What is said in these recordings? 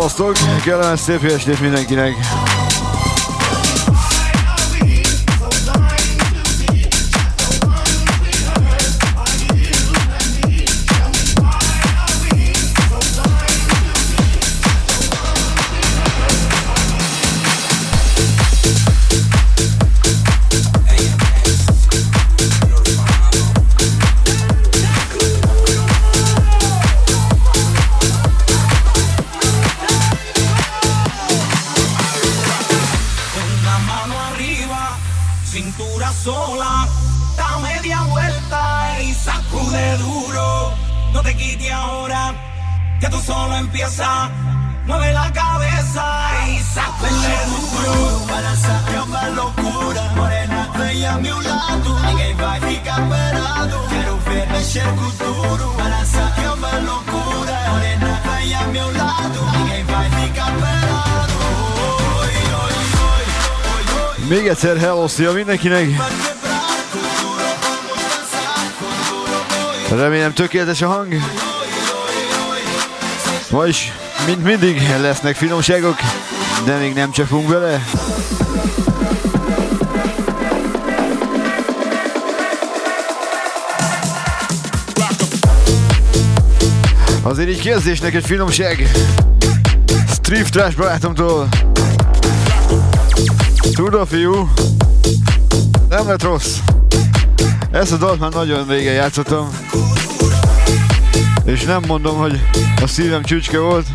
Szevasztok! Kellemes szép estét mindenkinek! Mueve la cabeza y sacude duro. Balança é uma loucura. Morena, vem a meu lado. Ninguém vai ficar parado. Quero ver mexer com duro. Balança é uma loucura. Morena, vem a meu lado. Ninguém vai ficar parado. Oi, oi, oi, oi, oi. Még egyszer hello, szia mindenkinek! Remélem tökéletes a hang. Vagyis, mint mindig, lesznek finomságok, de még nem csapunk bele. Azért így kezdésnek egy finomság. Street Trash barátomtól. Tudod, fiú? Nem lett rossz. Ezt a dalt már nagyon régen játszottam. És nem mondom, hogy a szívem csücske volt.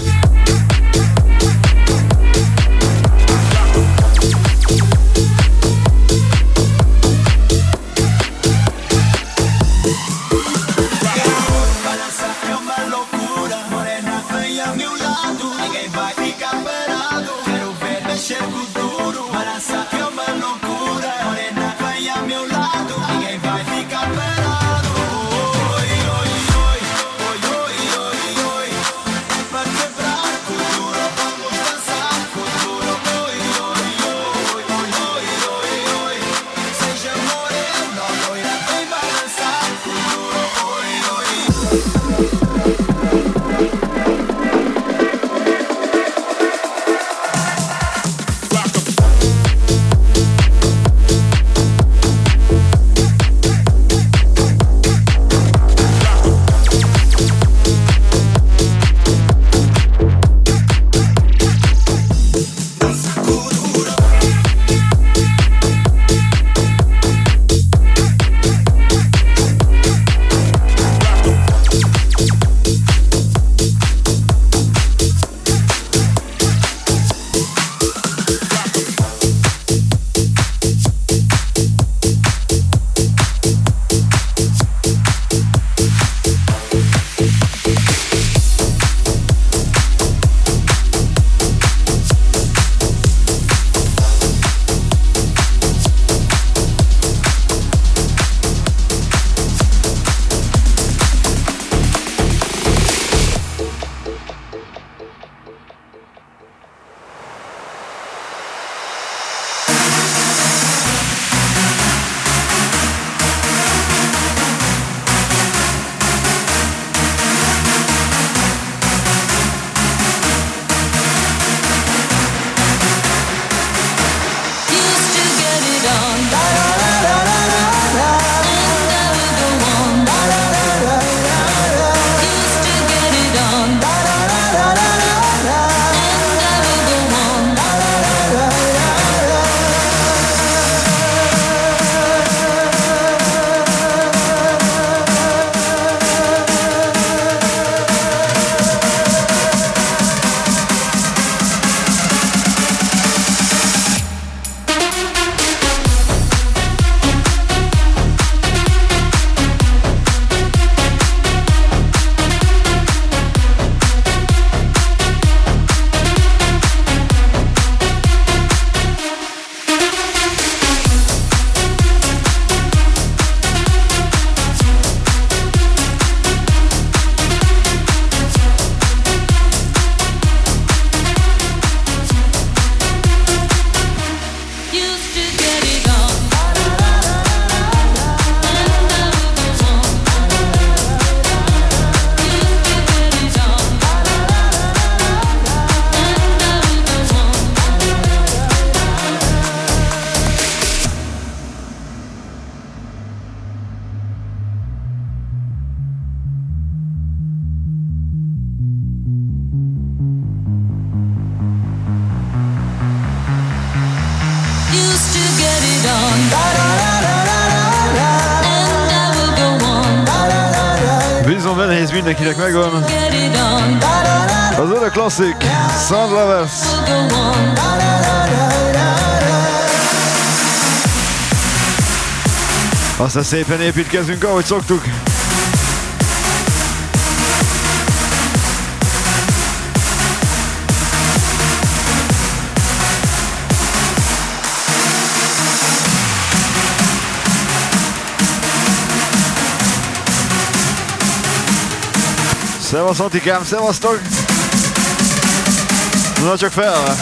nehéz mindenkinek megvan. Az örök klasszik, Sun Lovers. Aztán szépen építkezünk, ahogy szoktuk. Szevasz Atikám, szevasztok! Na csak fel!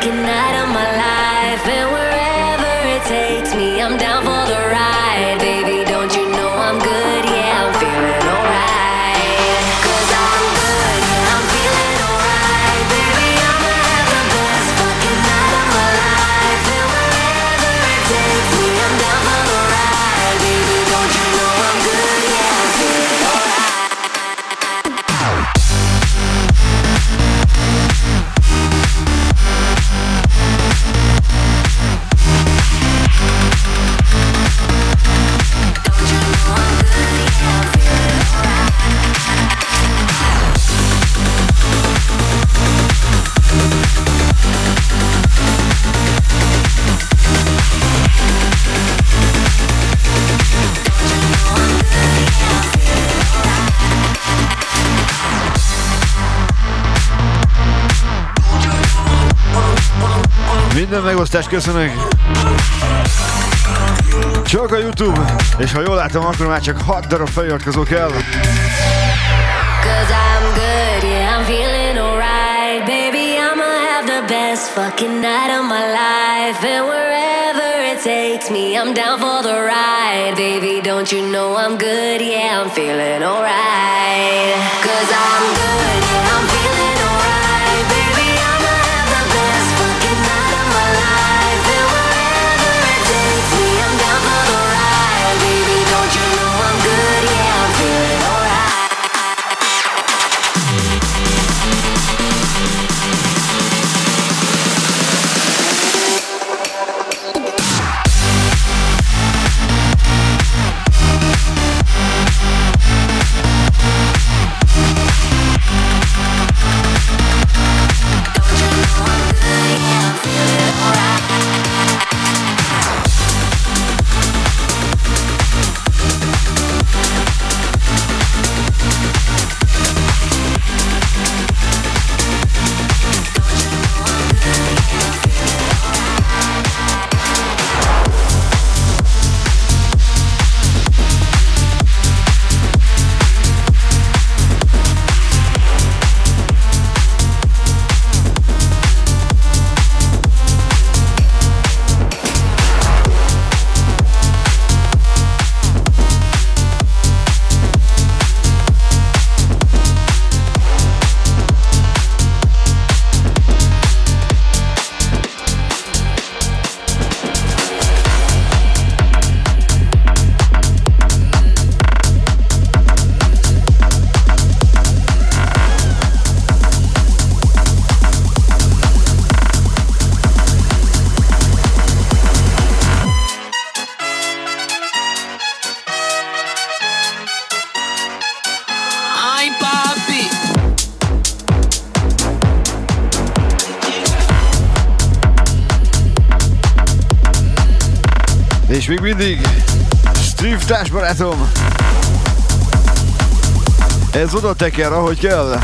fucking night of my life, and wherever it takes me, I'm down for the ride. Baby, don't you know I'm good? Yeah, I'm feeling alright. 'Cause I'm good, yeah, I'm feeling alright. Baby, I'ma have the best fucking night of my life, and wherever it takes me, I'm down for the ride. Baby, don't you know I'm good? Yeah, I'm feeling alright. Minden megosztást köszönök! Csak a YouTube, és ha jól látom, akkor már csak 6 darab feliratkozó kell. 'Cause I'm good, yeah, I'm feeling alright. Baby, I'ma have the best fucking night of my life, and wherever it takes me, I'm down for the ride. Baby, don't you know I'm good? Yeah, I'm feeling alright. 'Cause I'm good, yeah, I'm feeling alright. Baby, I'ma have the best fucking night of my life, and wherever it takes me, I'm down for the ride. Baby, don't you know I'm good? Yeah, I'm feeling alright. És még mindig Steve társbarátom. Ez oda teker, ahogy kell.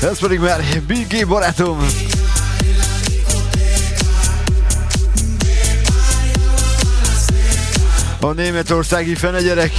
Ez pedig már BG barátom. A németországi fenegyerek.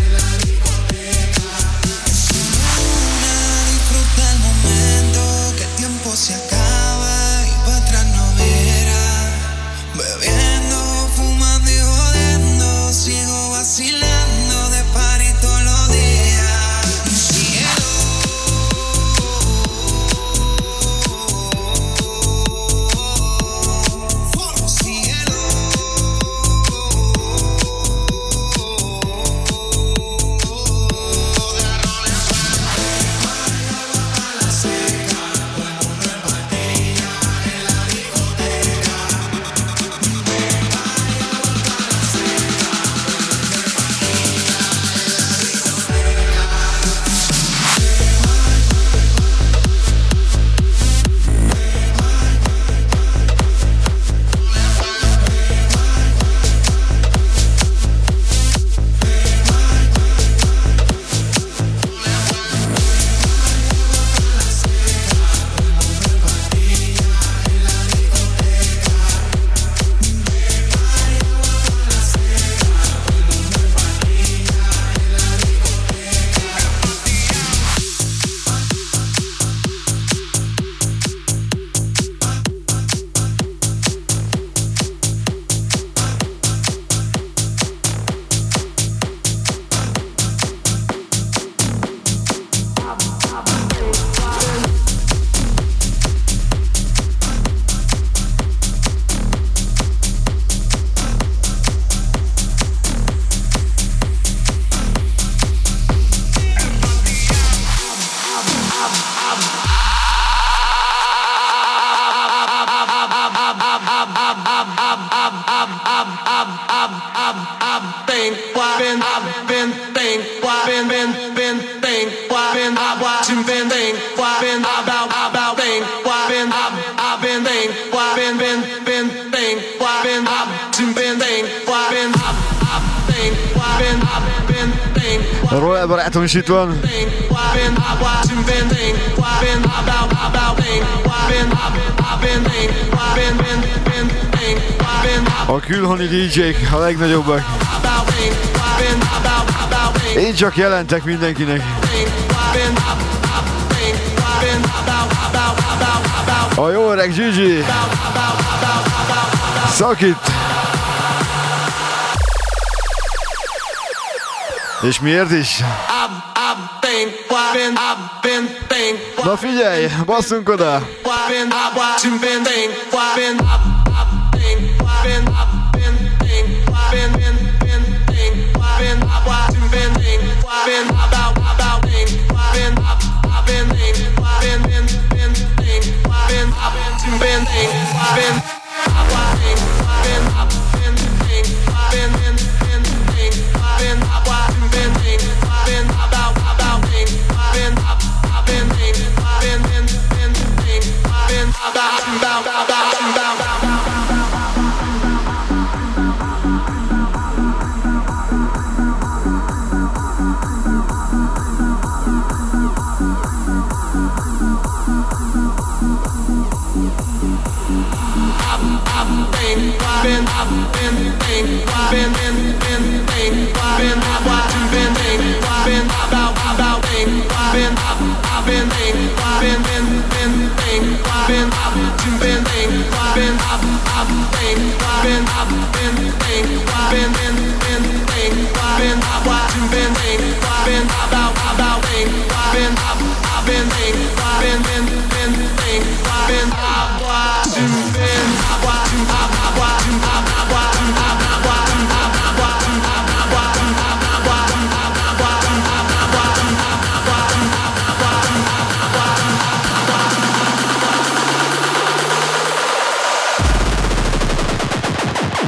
Royal barátom is itt van. A külhoni DJ-k a legnagyobbak. Én csak jelentek mindenkinek. A jó öreg Gigi. Szakít. És miért is? Na figyelj, basszunk oda!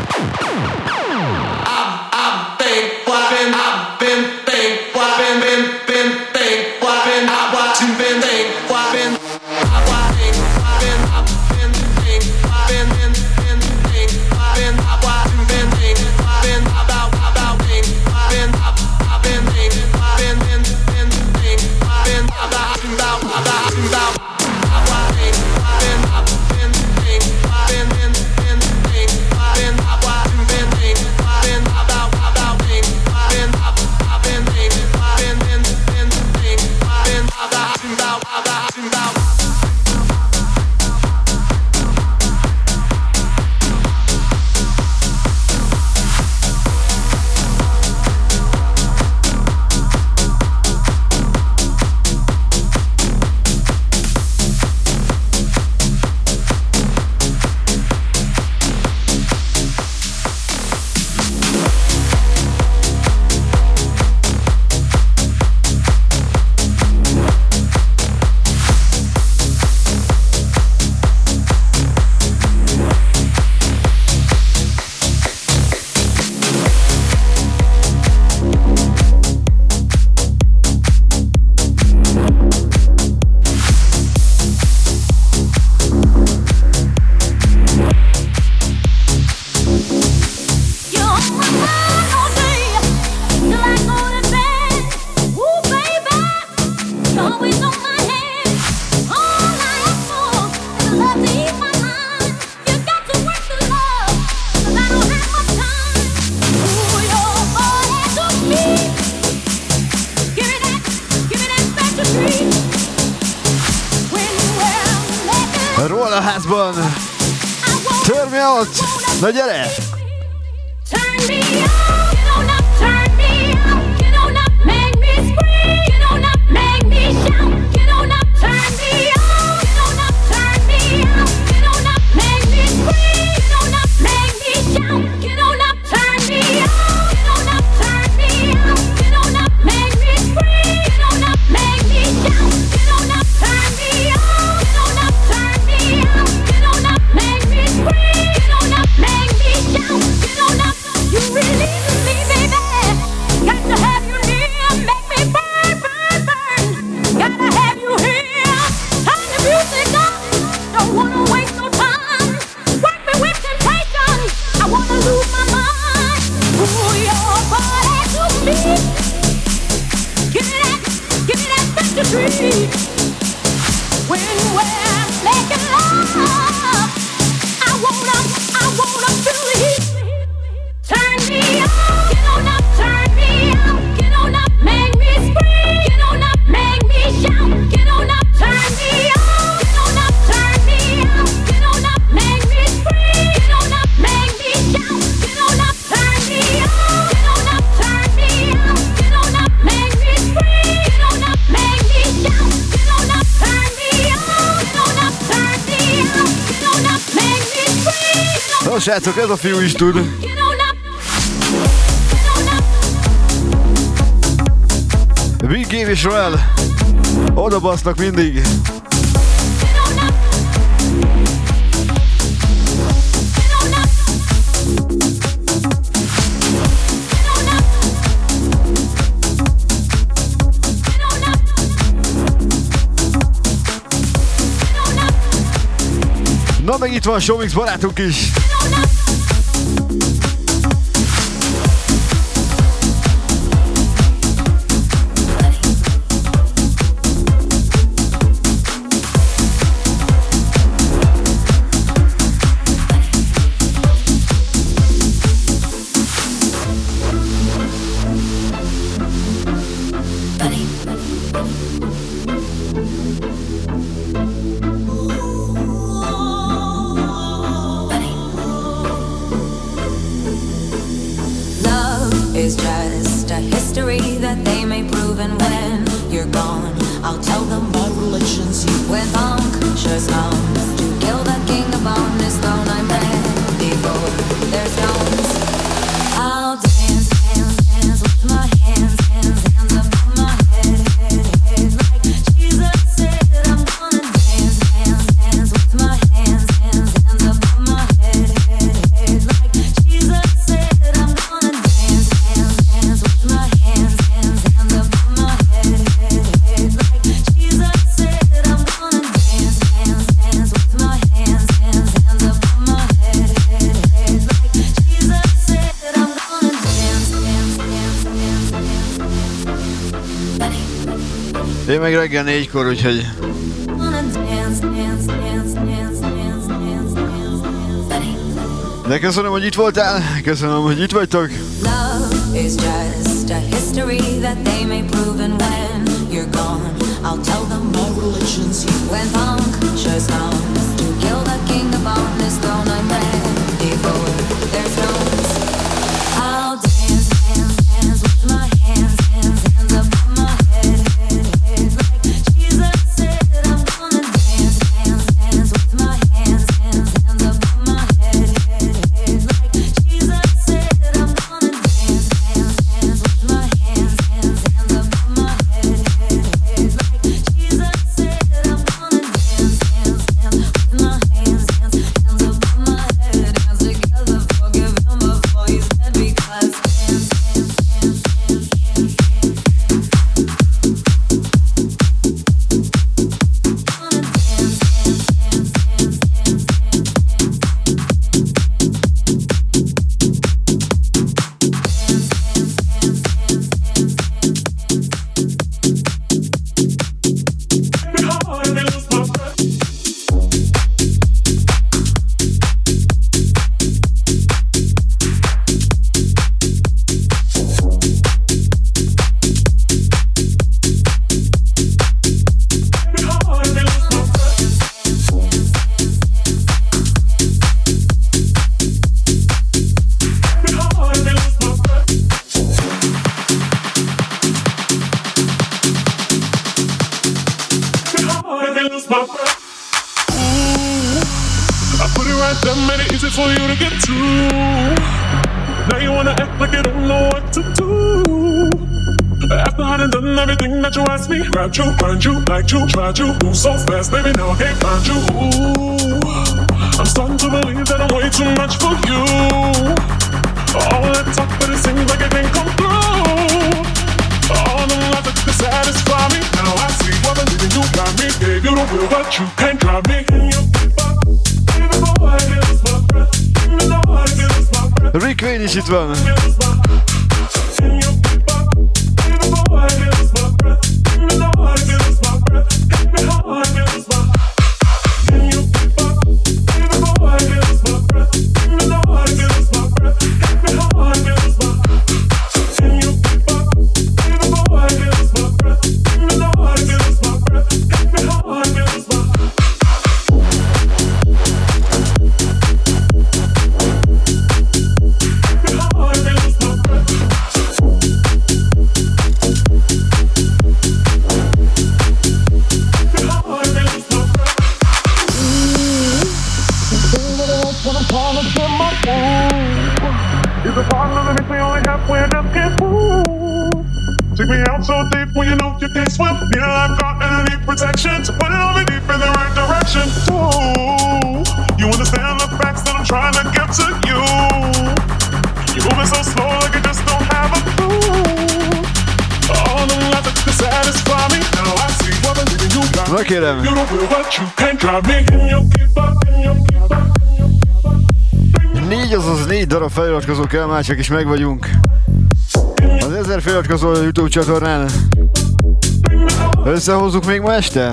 I've been van. Turn me out. Na gyere! Turn me on, get on up, turn me on, get on up, make me scream, get on up, make me shout, get on up, turn me on, get on up, turn me on, get on up, make me scream, get on up, make me shout, get on up, turn me on, get on up, turn me on, get on up, make me scream, get on up, make me shout, get on up, turn me on, get on up, turn me on, get on up, make me scream, get on up, make me shout, get on up. You release me, baby. Got to have you near, make me burn, burn, burn. Gotta have you here. Turn the music up. Don't wanna waste no time. Work me with temptation. I wanna lose my mind. Ooh, your body to me. Give me that fantasy. When we're making love, I wanna feel the heat. Turn me on, get on up, turn me on, get on up, make me scream, get on up, make me shout, get on up, turn me on, get on up, turn me on, get on up, make me scream, get on up, make me shout, get on up, turn me on, get on up, turn me on, get on up, make me scream, get on up, make me shout, get on up, turn me on, get on up, turn me on, get on up, make me scream. No, srácok, ez a fiú is tud. Big Game és Royal oda basznak mindig. Na meg itt van Showmix barátunk is. Én meg reggel 4-kor, úgyhogy... De köszönöm, hogy itt voltál, köszönöm, hogy itt vagytok. Love is just a history that they may prove, and when you're gone, I'll tell them my religion's you. When punctures come to kill the king upon his throne, I'm ready for their thrones. I'll dance, dance, dance with my hands, hands, hands above my head, head, head. Like Jesus said, I'm gonna dance, dance, dance with my hands, hands, hands above my head, head, head. Like Jesus said, I'm gonna dance, dance, dance with my hands, hands, hands above my head, head, head. Like Jesus said, I'm gonna dance, dance, dance. it easy for you to get to. Now you wanna act like you don't know what to do. After I done done everything that you asked me, grabbed you, find you, liked you, tried you, move so fast, baby, now I can't find you. Ooh, I'm starting to believe that I'm way too much for you. All that talk, but it seems like it didn't come through. All the lies that could satisfy me, now I see what I'm leaving you got me. Gave you the will, but you can't drive me. Rick Wayne is itt van. Take me out so deep when you know you can't swim. Need a lifeguard and I need protection to put it on me deep in the right direction. Ooh, you understand the facts that I'm trying to get to you. You're moving so slow like you just don't have a clue. All the lies that could satisfy me, now I see what I'm leaving you got. Look at him. You don't feel what you can't drive me. Can you keep up? 4, azaz 4 darab feliratkozó kell, már csak is meg vagyunk. Az 1000 feliratkozó a YouTube csatornán. Összehozzuk még ma este?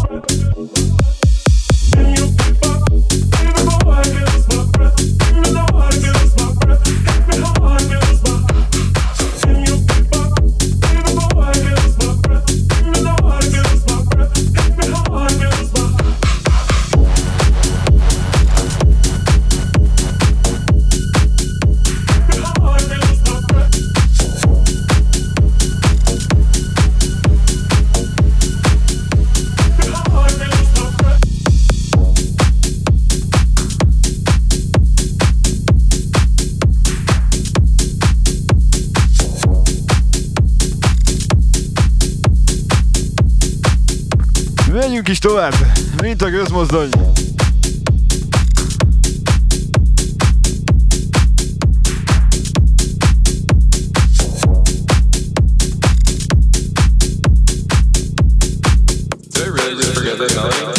Menjünk is tovább, mint a gőzmozdony. Did I really just forget that melody?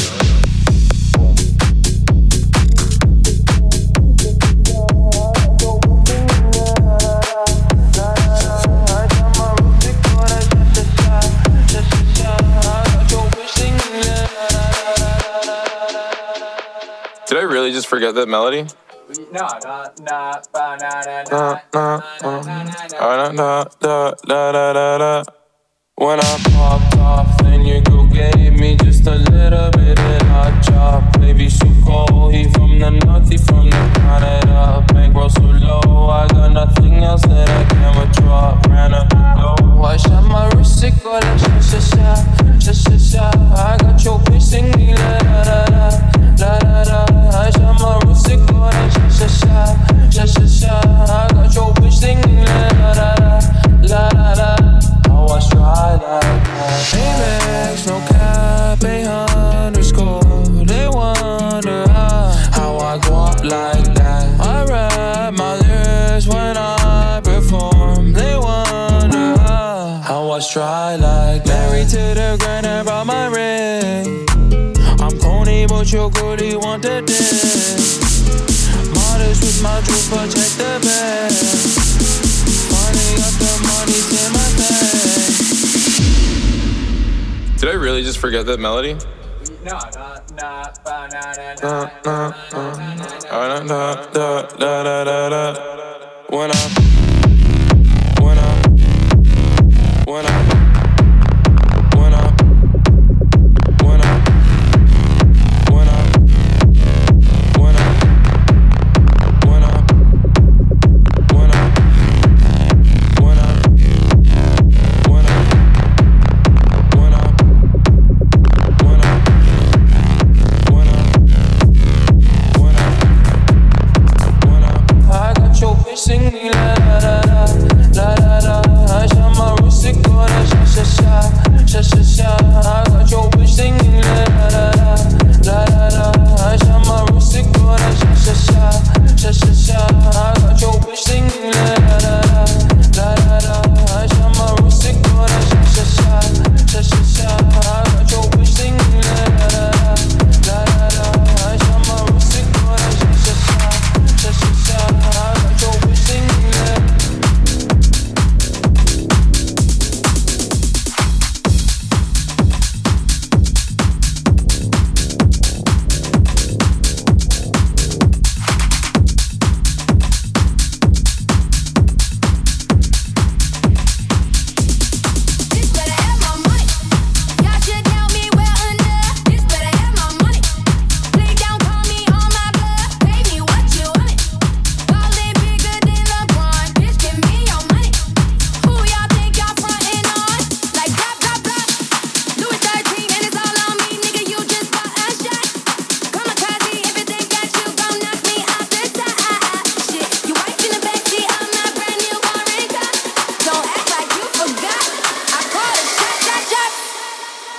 Did I really just forget that melody? When I popped off, then your girl gave me just a little bit of hot chop. Baby, so cold, he from the north, he from the Canada. Bankroll so low, I got nothing else that I can withdraw. Ran up low, I shot my wrist, it go like sha-sha-sha, sha-sha-sha. I got your bitch singing la-da-da-da, la-da-da. I shot my wrist, it go like sha-sha-sha, sha-sha-sha. I got your bitch singing la-da-da-da, la-da-da. How I try like that. Amex, no cap, _. They wonder how I go up like that. I rap my lyrics when I perform. They wonder how I try like that. Married to the grind and brought my ring. I'm corny, but your goodie want the dick. Modest with my jewels, protect the bag. Finally got the money in my bag. Did I really just forget that melody? When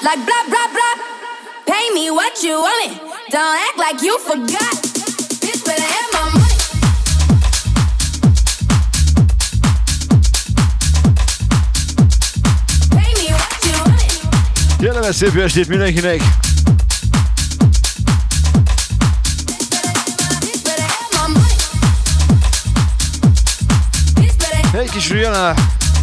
Like blah, blah, blah. Pay me what you want it. Don't act like you forgot. Bitch, better have my money. Pay me what you want it. Kellemes szép estét mindenkinek! Egy kis Rihanna!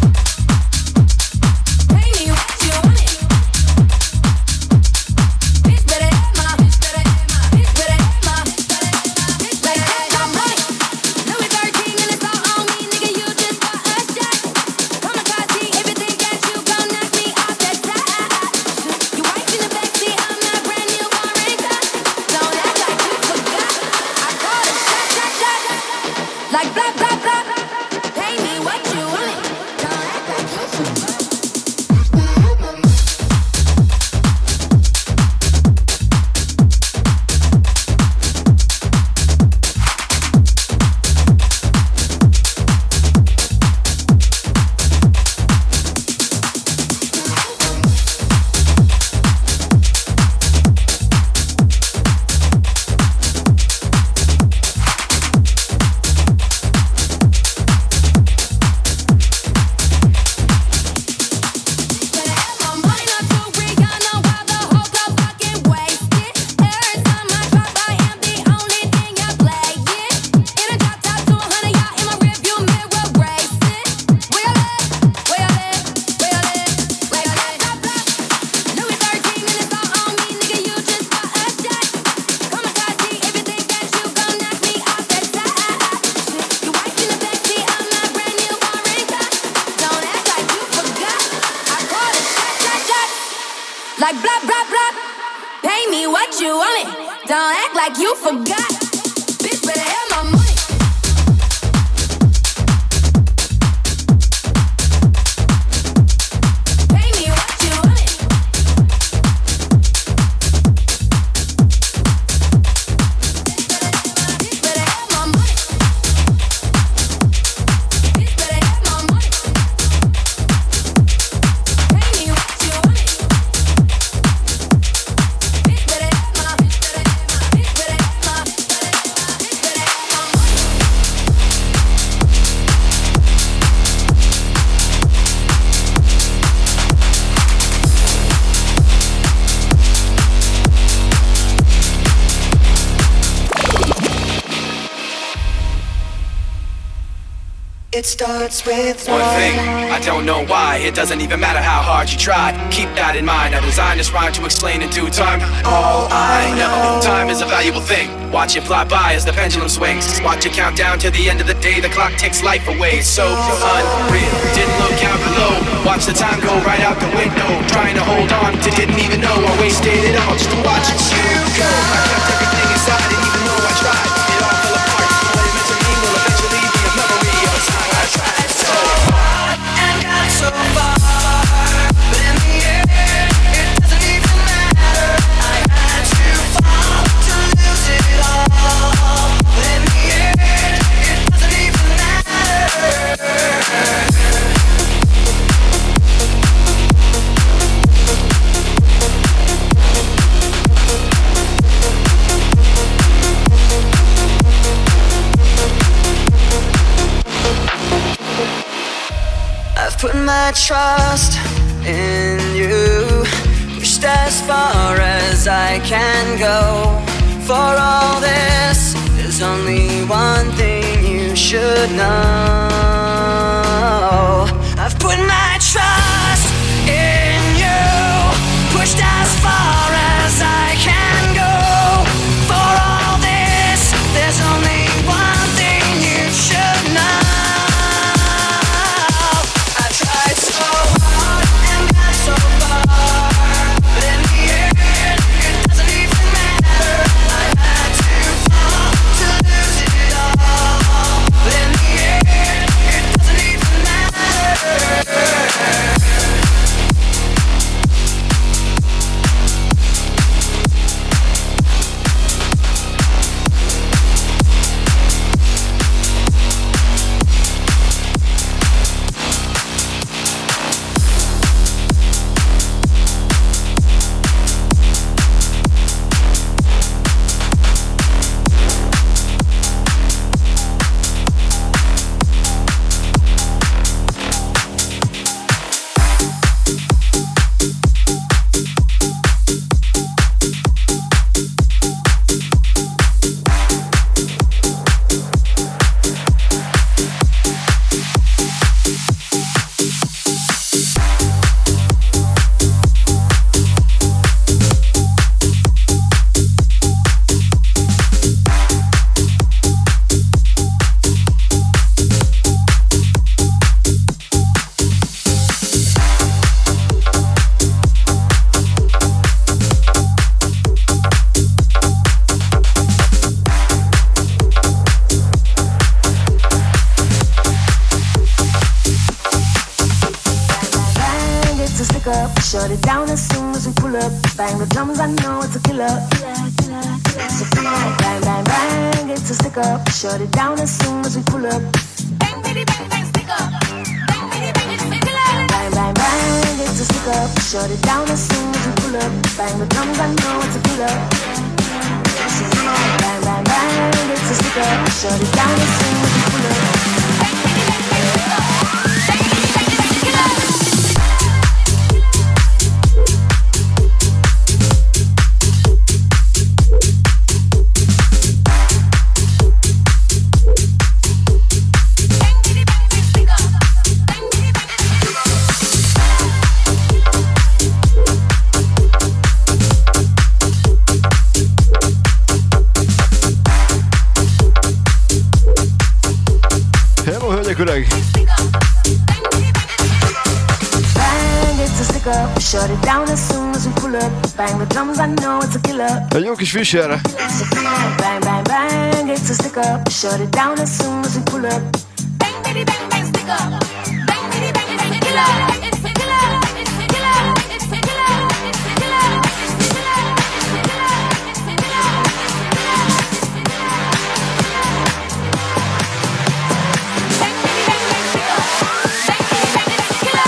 Like blah blah blah, pay me what you want. Don't act like you forgot. Like blah blah blah, pay me what you want it. Don't act like you forgot. Bitch, better have my money. Pay me what you want it. Bitch, better have my money. Bitch, better have my money. Pay me what you want it. It starts with one thing, I don't know why. It doesn't even matter how hard you try. Keep that in mind, I designed this rhyme to explain in due time. All I know, time is a valuable thing. Watch it fly by as the pendulum swings. Watch it count down to the end of the day. The clock takes life away, it's so unreal. Didn't look out below, watch the time go right out the window. Trying to hold on to didn't even know I wasted it all just to watch you go. I kept everything inside and even though I tried, it all fell apart. What it meant to me will eventually be a memory of a time I tried so hard and got so far, but in the end, it doesn't even matter. I had to fall to lose it all, but in the end, it doesn't even matter. I've put my trust in you, pushed as far as I can go. For all this, there's only one thing you should know. I've put my trust in you, pushed as far as I can go. For all this, there's only one thing you should know. But in the end, up, shut it down as soon as we pull up. Bang the drums, I know it's a killer. So bang, bang, bang, it's a stick up. Shut it down as soon as we pull up. Bang, bitty, bang, bang, stick up. Bang, bitty, bang, it's a killer. Bang, bang, bang, it's a stick up. Shut it down as soon as we pull up. Bang the drums, I know it's a killer. So bang, bang, bang, it's a stick up. Shut it down as soon as we pull up. Shut it down as soon as we pull up. Bang the drums, I know it's a killer. Egy jó kis fűsére. Bang, bang, bang, it's a stick up. Shut it down as soon as we pull up. Bang, bitty, bang, bang, stick up. Bang, bitty, bang, it's a killer. It's a killer. It's a killer. It's a killer. It's a killer. It's a killer. It's a killer. Bang, bitty, bang, bang, stick up. Bang, bitty, bang, it's a killer.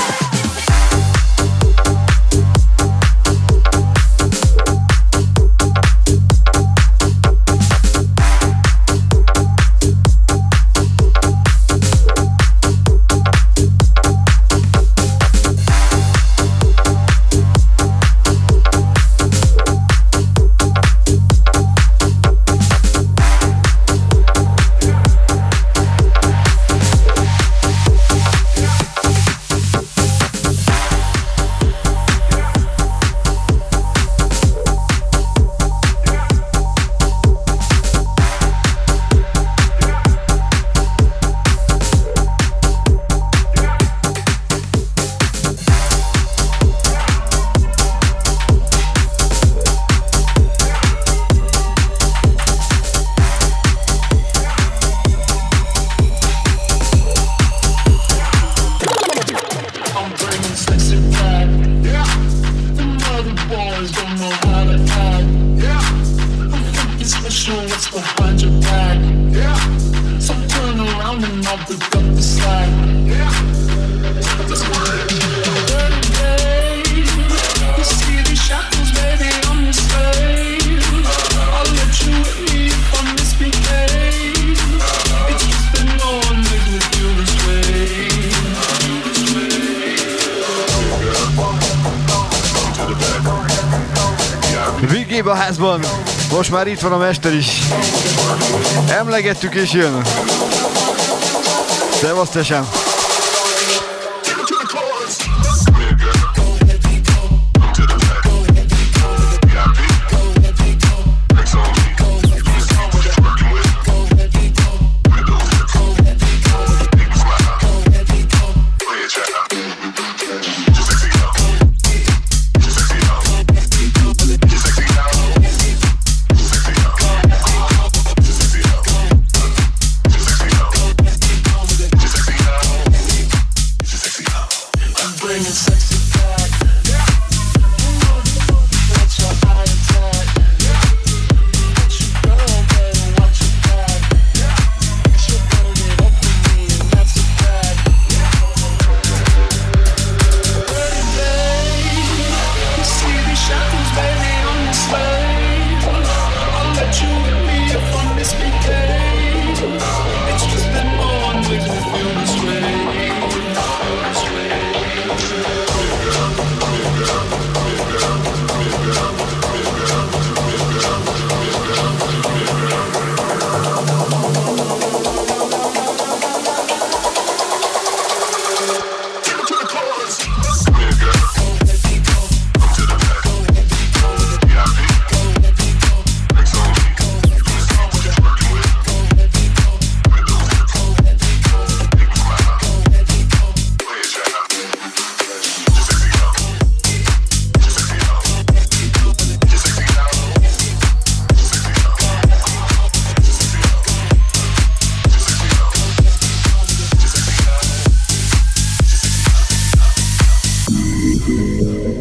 Végébb a házban, most már itt van a mester is. Emlegettük és jön. Szevasz, tesem!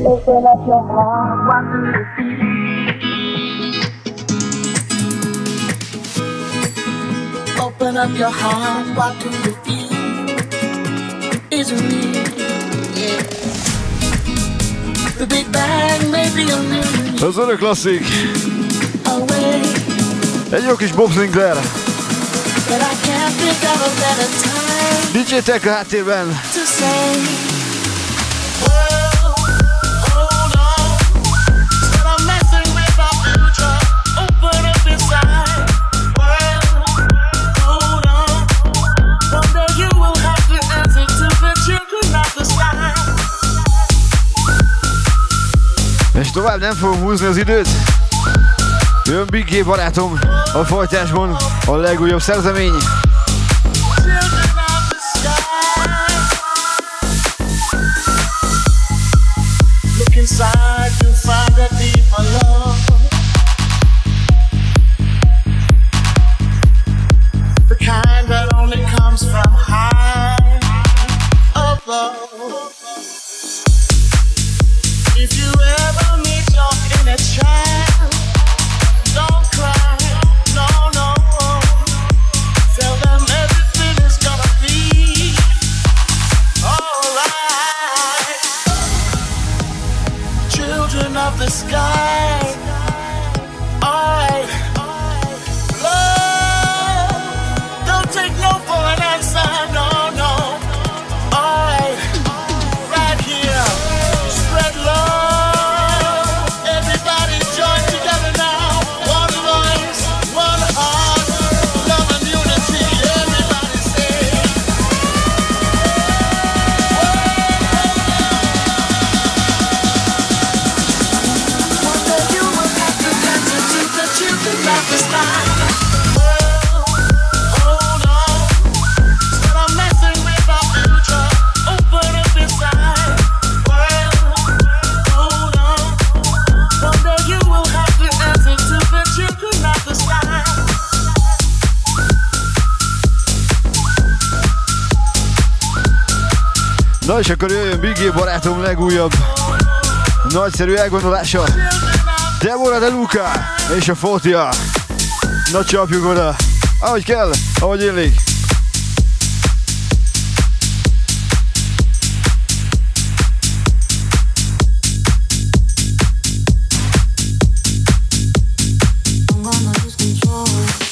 Open up your heart, what do you feel? Open up your heart, what do you feel? Is it real? Yeah. The Big Bang may be a million Az örök klasszik. away, Egy jó kis Bob Sinclair. but I can't think of a better time DJ Tech a háttérben. to say. És tovább nem fogom húzni az időt. Jön Big G barátom a folytásban, a legújabb szerzemény. Look inside, you'll find a deeper love. The kind that only comes from high above. If you ever meet your inner child, don't cry, no, no. Tell them everything is gonna be alright. Children of the sky, alright. Love, don't take no for an answer, no, no. Alright, right here, spread love. Everybody join together now. One voice, one heart, love and unity. Everybody say. One day you will have to dance into the children of the sky. Hold on, instead of messing with our future, open up inside. Hold on, one day you will have to answer to the children of the sky. Na és akkor jöjjön Big G barátom legújabb nagyszerű elgondolása. Deborah De Luca és a Fotia. Na csapjuk oda, ahogy kell, ahogy illik. I'm gonna lose control.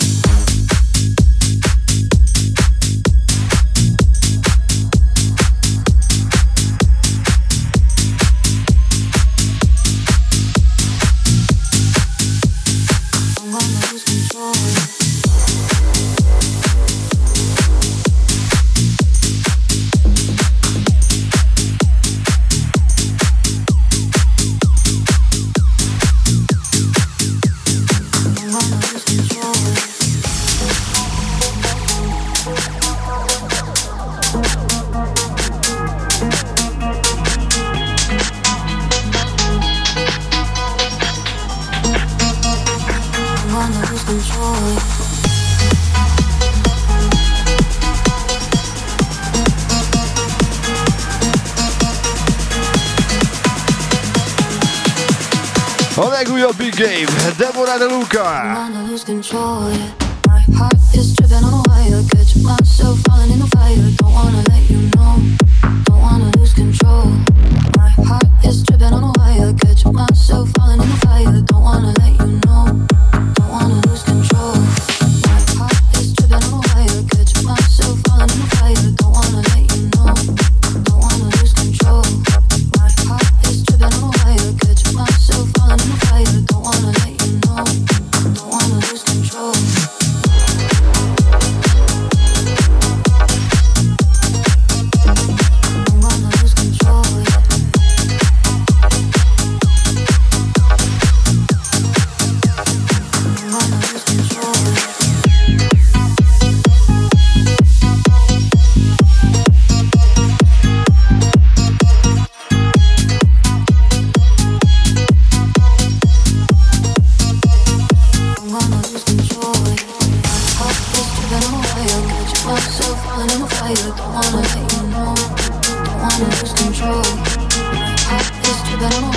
I'm gonna lose control. I'm gonna lose control. I'm gonna lose control. A legújabb Big Game, Deborah De Luca. I'm gonna lose control, yeah. My heart is tripping on a wire. Catch myself falling in the fire. Don't wanna let you know. Don't wanna lose control. My heart is tripping on a wire. Catch myself falling in the fire. Don't wanna let you know. Don't wanna lose control. My heart is tripping on a wire. Catch myself falling in the fire. Don't wanna let you know. Don't wanna lose control. My heart is tripping on a wire. Catch myself falling in the fire. Don't wanna let you know. Don't wanna lose control. I'm gonna lose control. I'm gonna lose control. I'm gonna lose control. My heart is tripping on a wire. Catch myself falling in the fire. Don't wanna let you know. Don't wanna lose control. My heart is tripping on a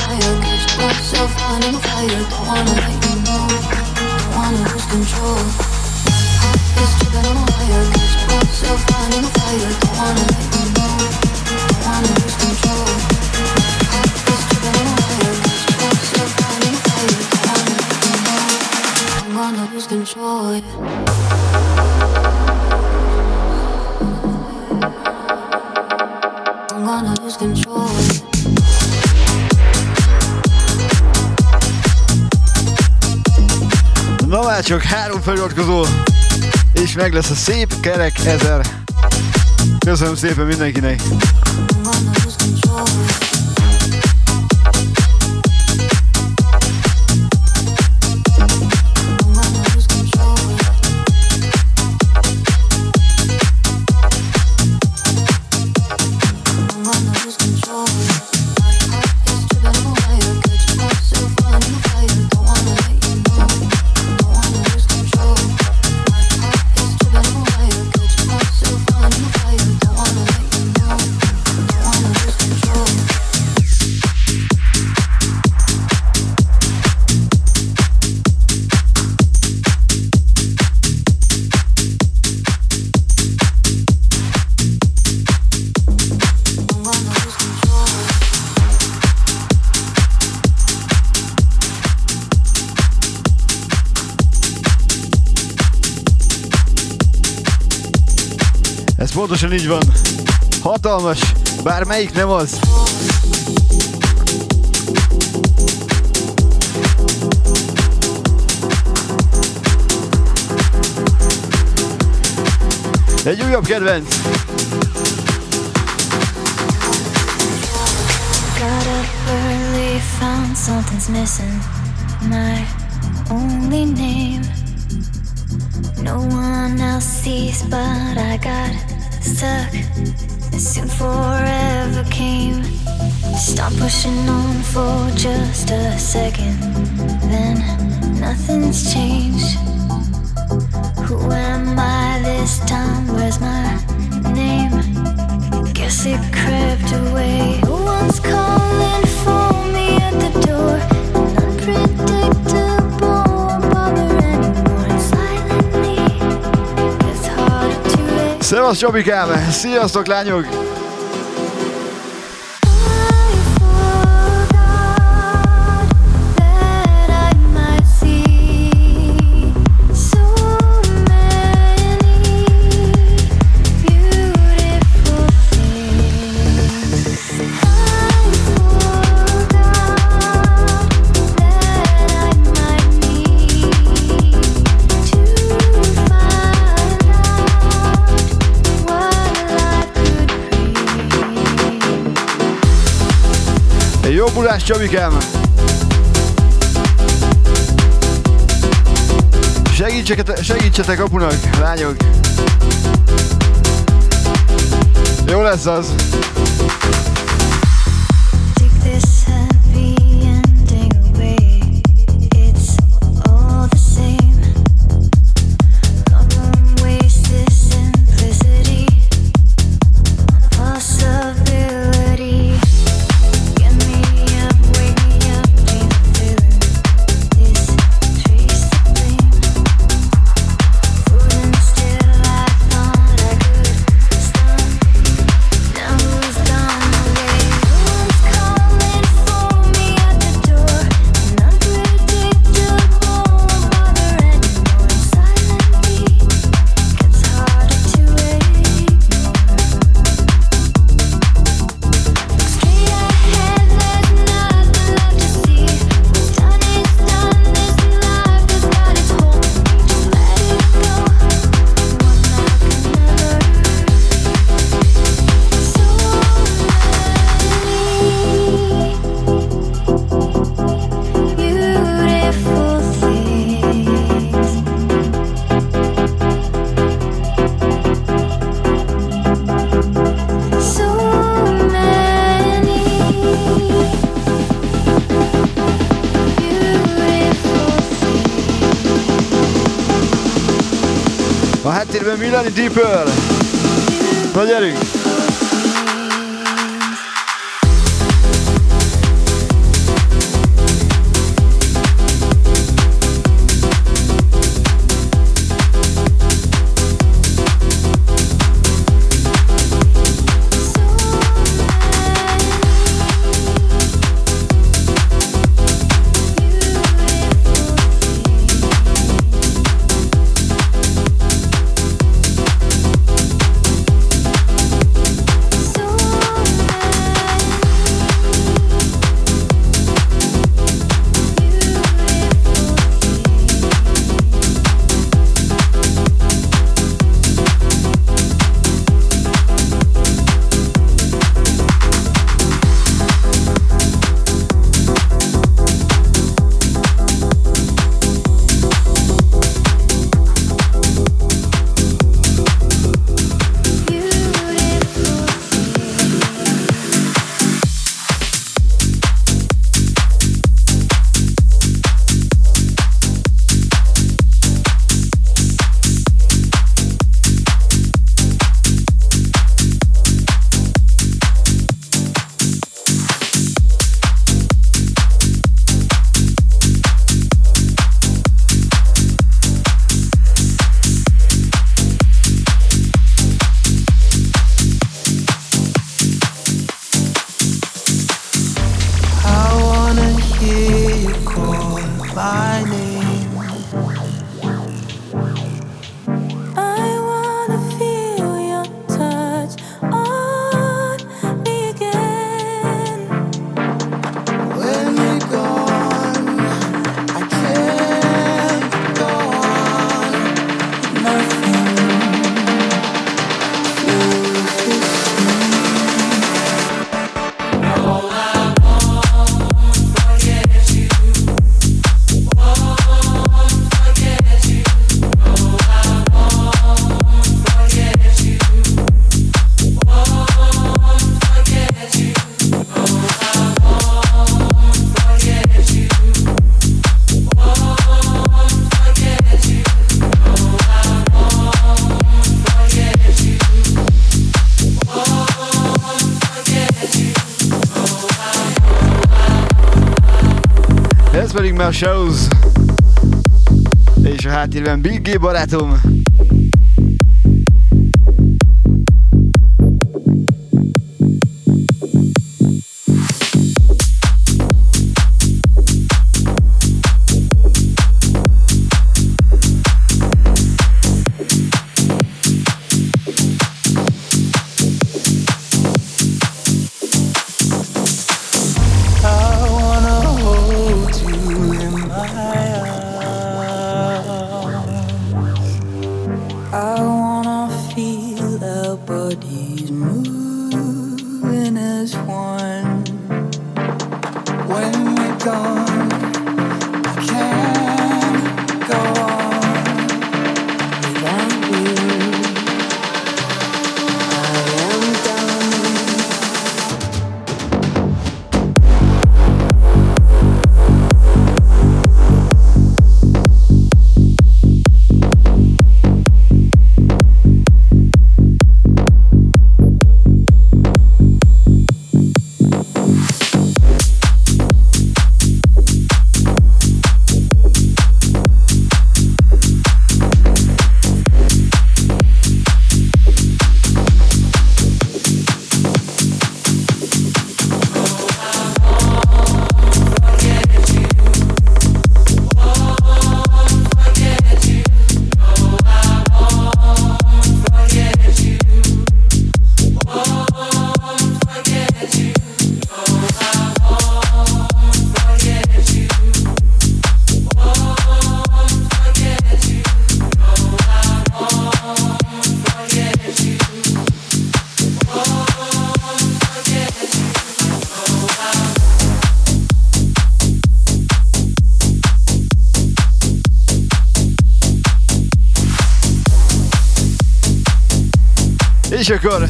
for you. I'm gonna lose control. Na már csak 3 feliratkozó, és meg lesz a szép kerek 1000. Köszönöm szépen mindenkinek. Ez pontosan így van. Hatalmas, bármelyik nem az. Egy újabb kedvenc. Got up early, found something's missing. My only name. No one else sees, but I got stuck. Soon forever came. Stop pushing on for just a second. Then nothing's changed. Who am I this time? Where's my name? Guess it crept away. No one's calling for me at the door. Unpredictable, won't bother anymore. Silently, it's harder to wait. Szevasz Csabikám! Sziasztok lányok! Jobbulás Csabikám! Segítsetek apunak, lányok! Jó lesz az! Háttérben Milani Deep Earl. Na gyerünk! pedig már Shows. És a háttérben Big G barátom. És akkor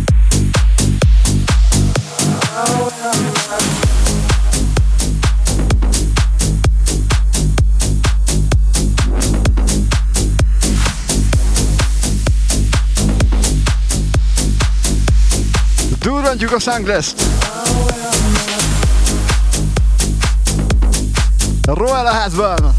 durrantjuk a Sunglass-t. Roel a házban.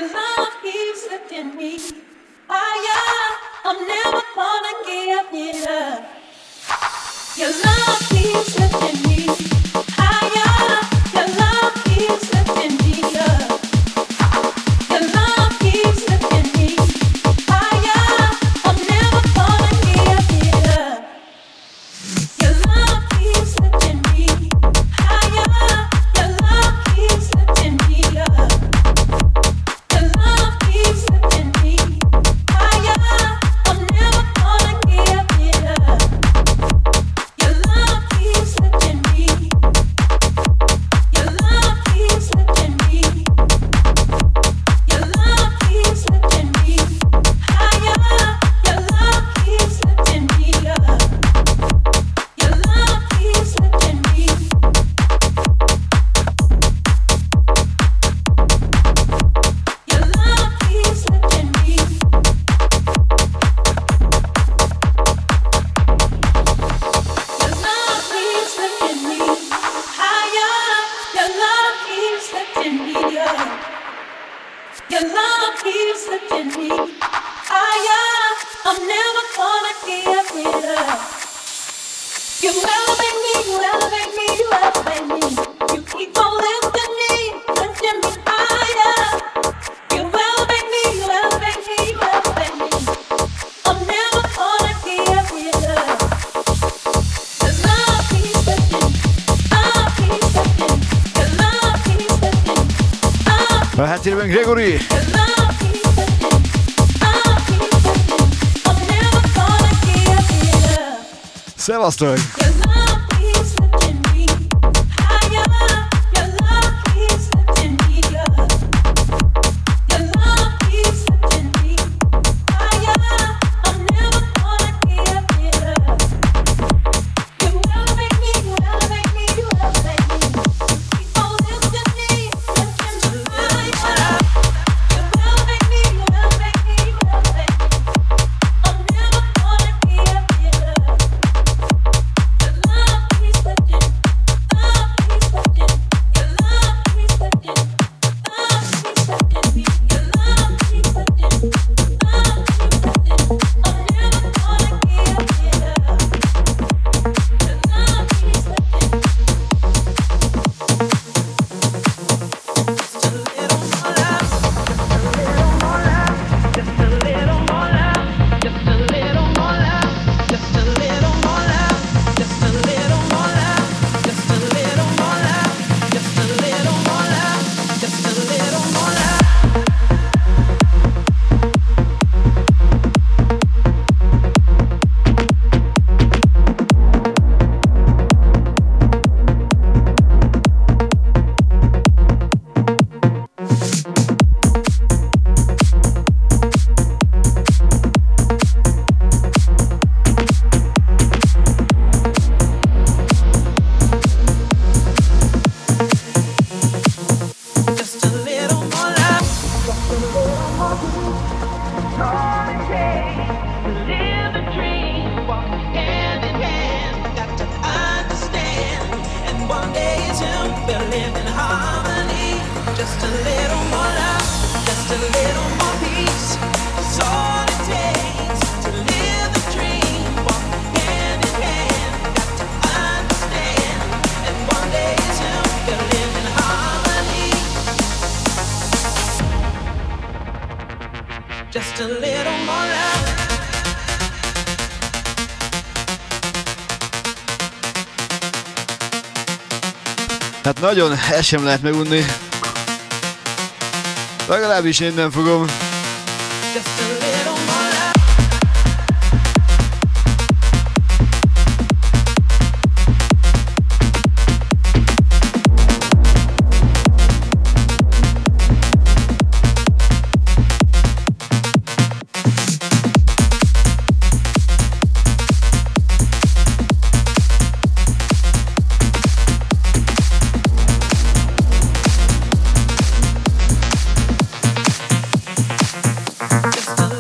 A háttérben Gregory. Szevasztok! Hát nagyon, ezt sem lehet megunni. Legalábbis én nem fogom. Just a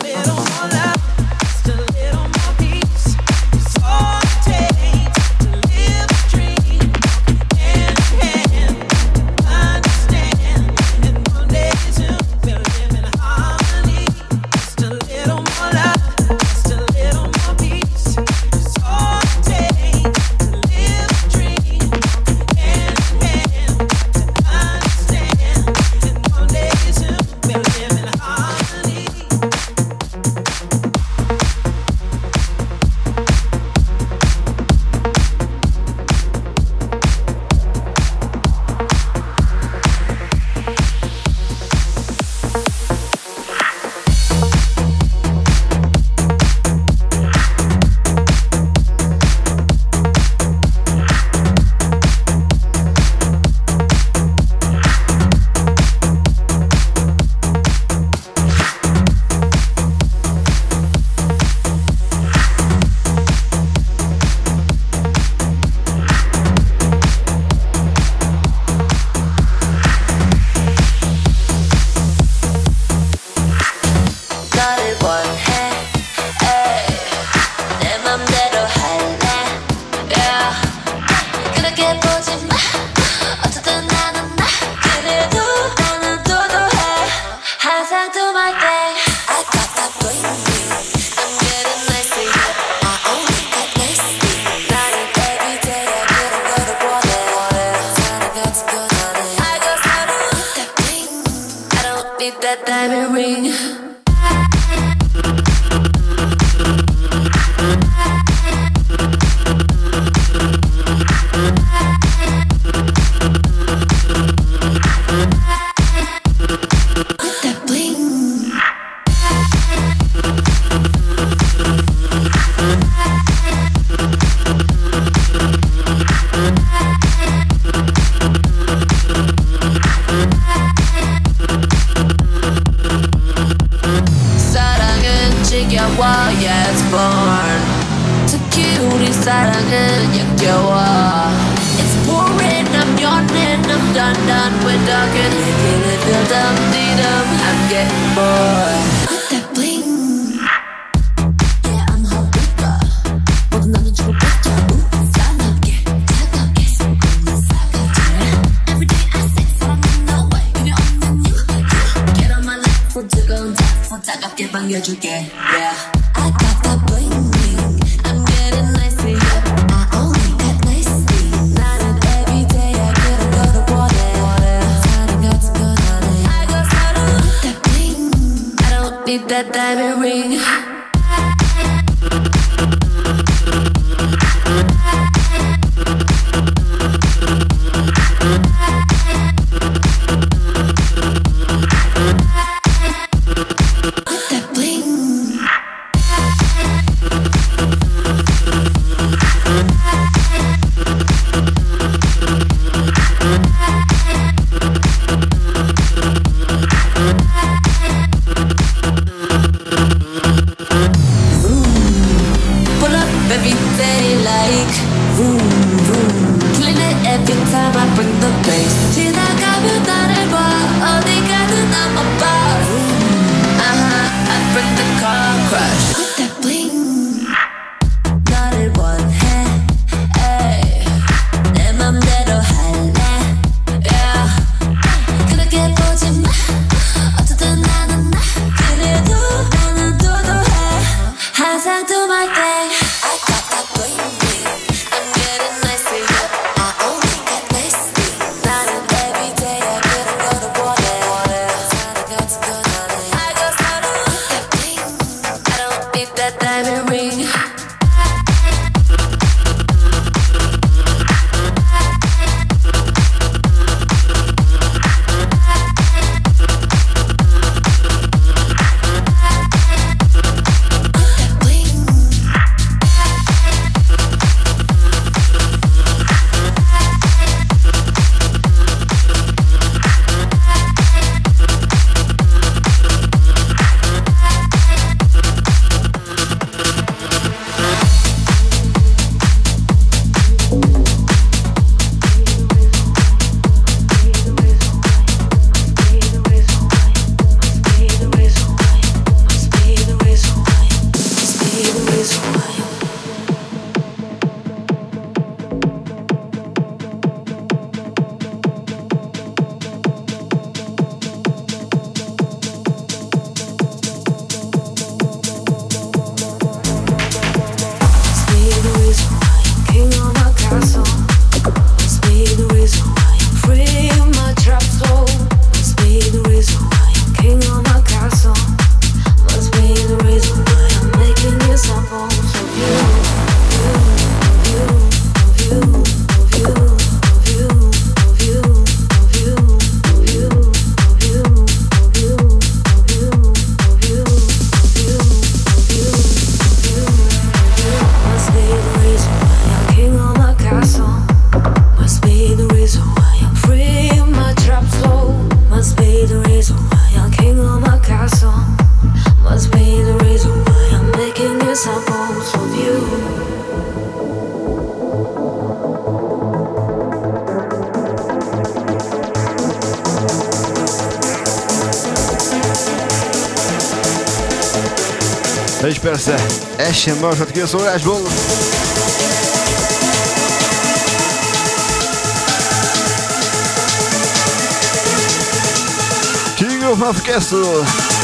És persze, ez sem maradhat ki a szólásból. King of Castle.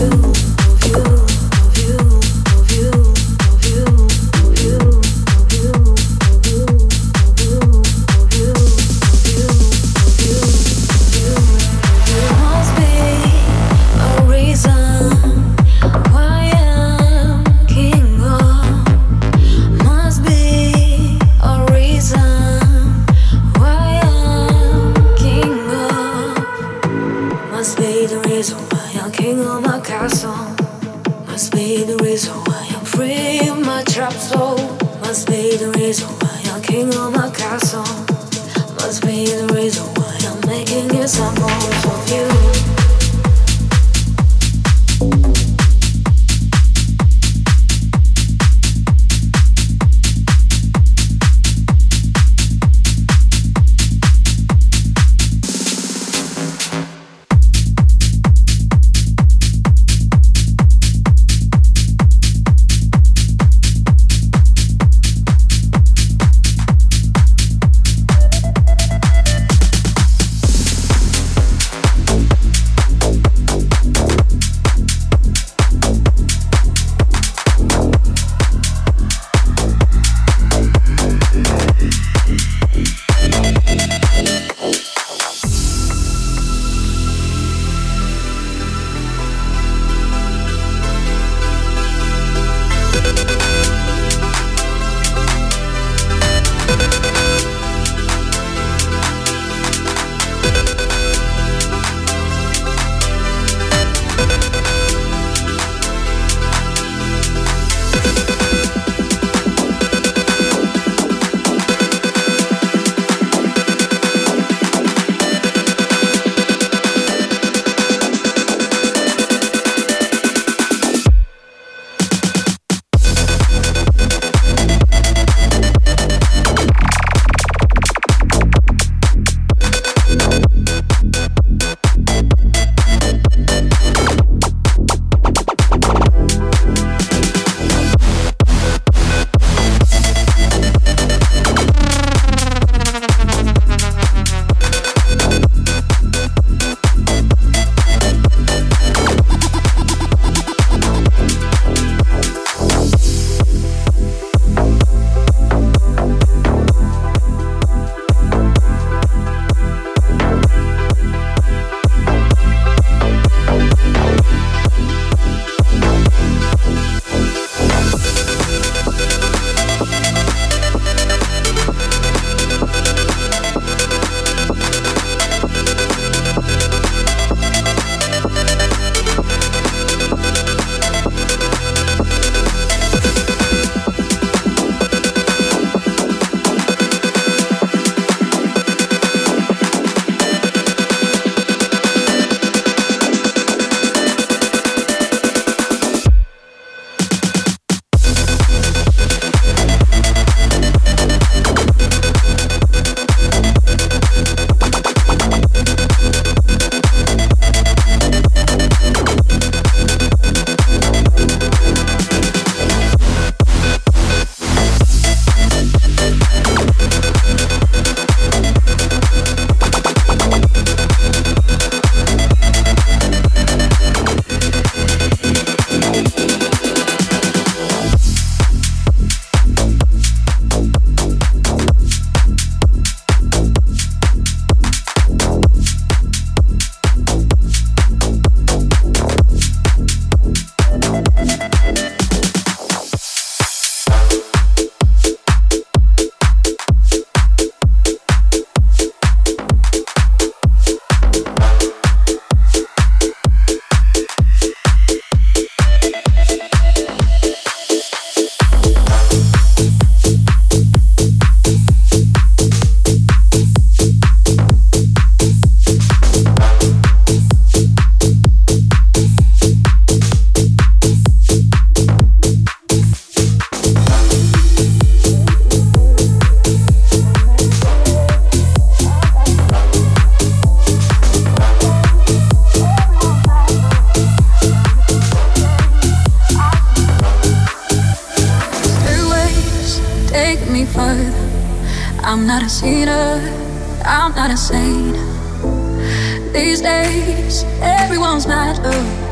I'm not a sinner, I'm not a saint. These days, everyone's mad love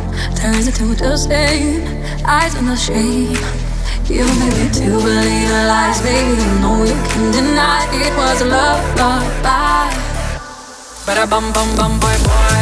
turns into the same. Eyes on the shame. You made me to believe the lies, baby. You know you can deny it was a love, bye. But I bum bum bum boy boy.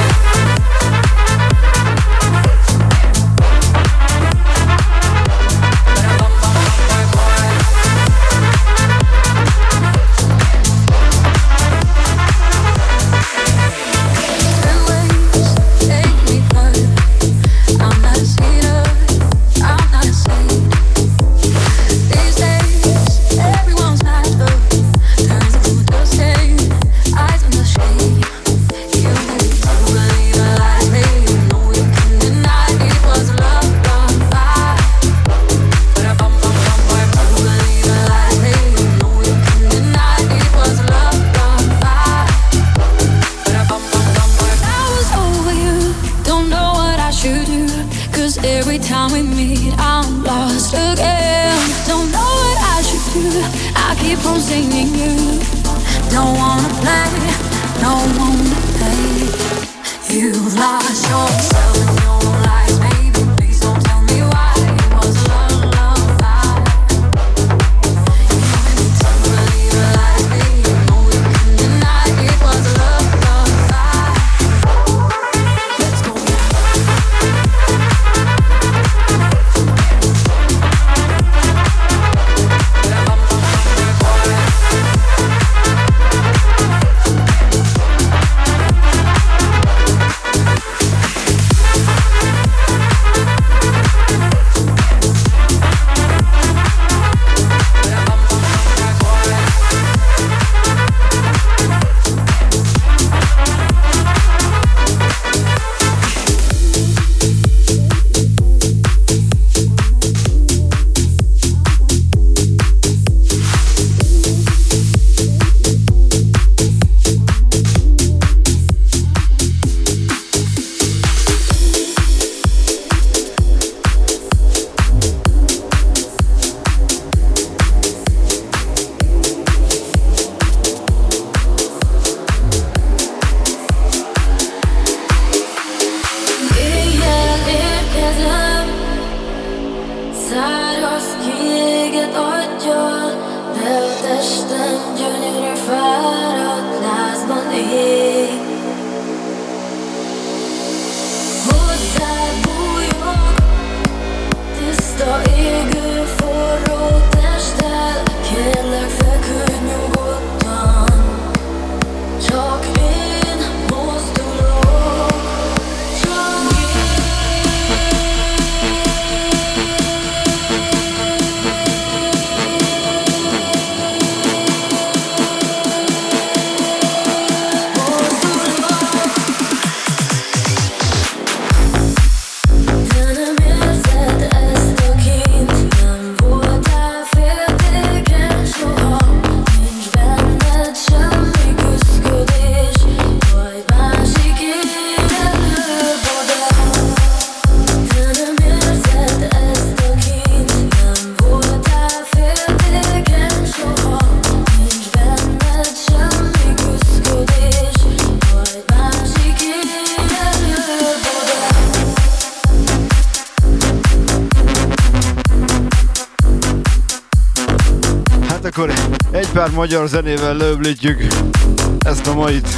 Akkor egy pár magyar zenével leöblítjük ezt a mait.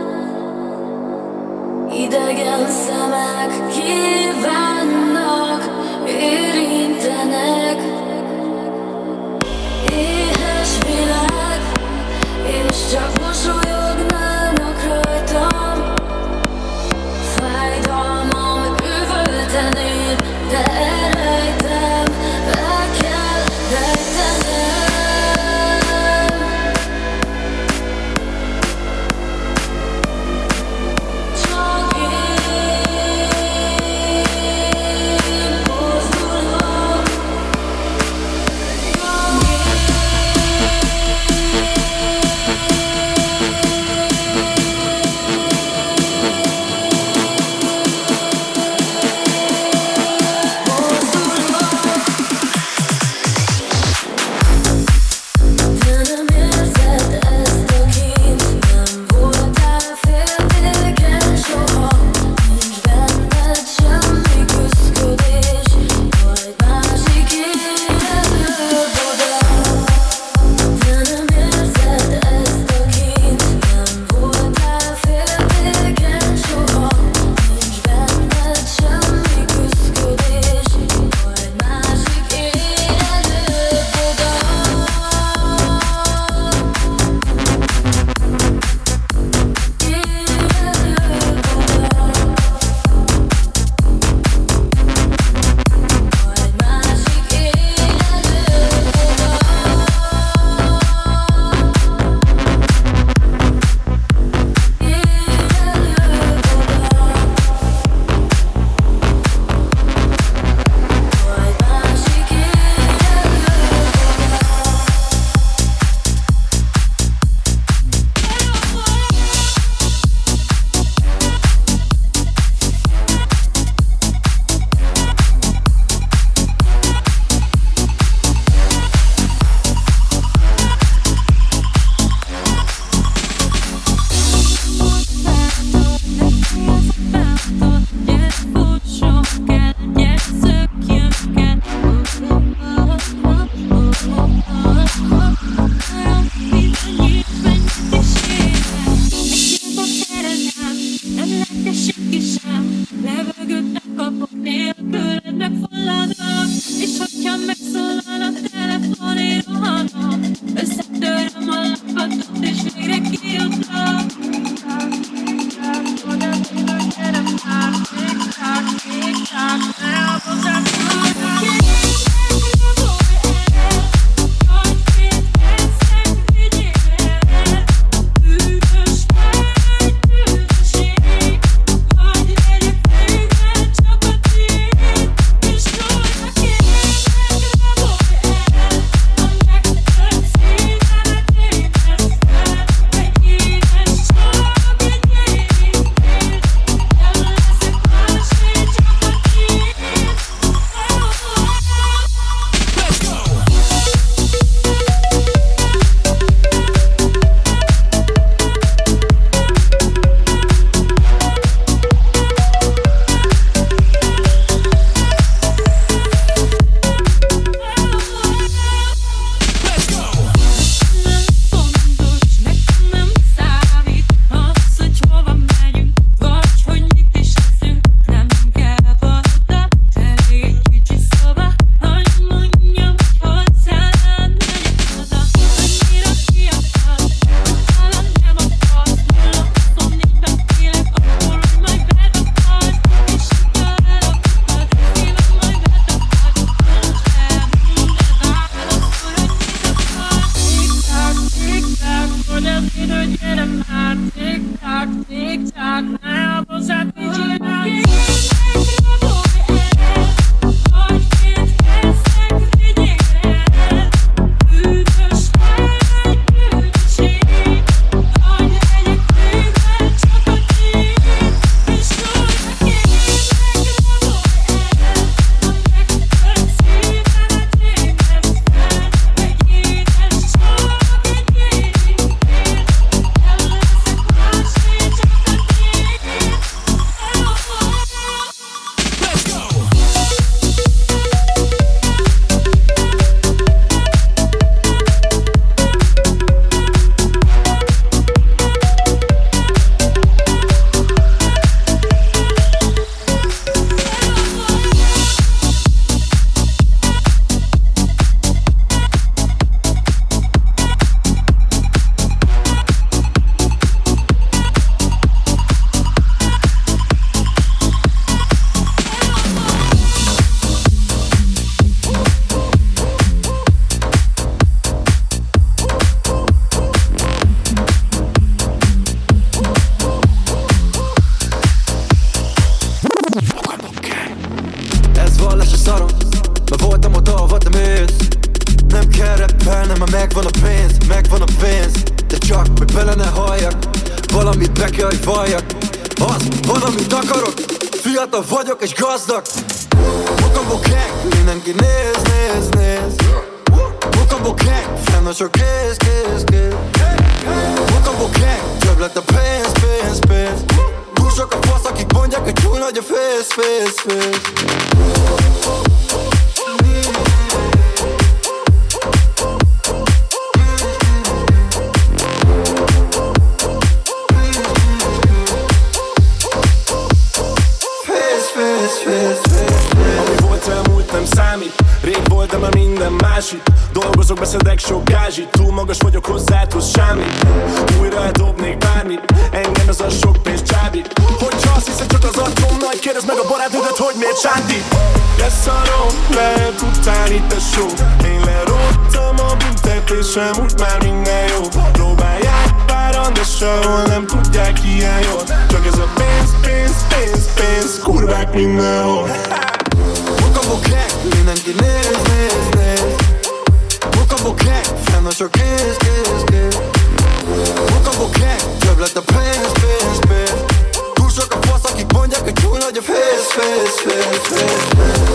Idegen szemek kívánnak amit be kell, hogy valljak. Az van, amit akarok, fiatal vagyok és gazdag. Mukambo gang, mindenki néz, néz, néz. Mukambo gang, fenn a sok kéz, kéz, kéz. Mukambo gang, több lett a pénz, pénz, pénz. Túl sok a fasz, akik mondják, hogy túl nagy a fész, fész, fész. Ami volt elmúlt nem számít. Rég volt, de már minden másik. Dolgozok, beszedek sok gázsit. Túl magas vagyok hozzá, tudsz semmit. Újra eldobnék bármit. Engem ez a sok pénz csábít. Hogyha azt hiszed csak az atom nagy, kérdezd meg a barátnődet, hogy miért sántít. Leszarom, lehet utálni tesó. Én lerodtam a büntetésem, úgy már minden jó. Próbálják páran, de sehol nem tudják ilyen jól. Csak ez a pénz, pénz, pénz, pénz. Kurvák mindenhol. Mukambo gang, mindenki néz, néz, néz. Mukambo gang, fenn a sok kéz, kéz, kéz. Mukambo gang, több lett a pénz, pénz, pénz. Túl sok a fasz, akik mondják, hogy túl nagy a fész, fész, fész, fész, fész.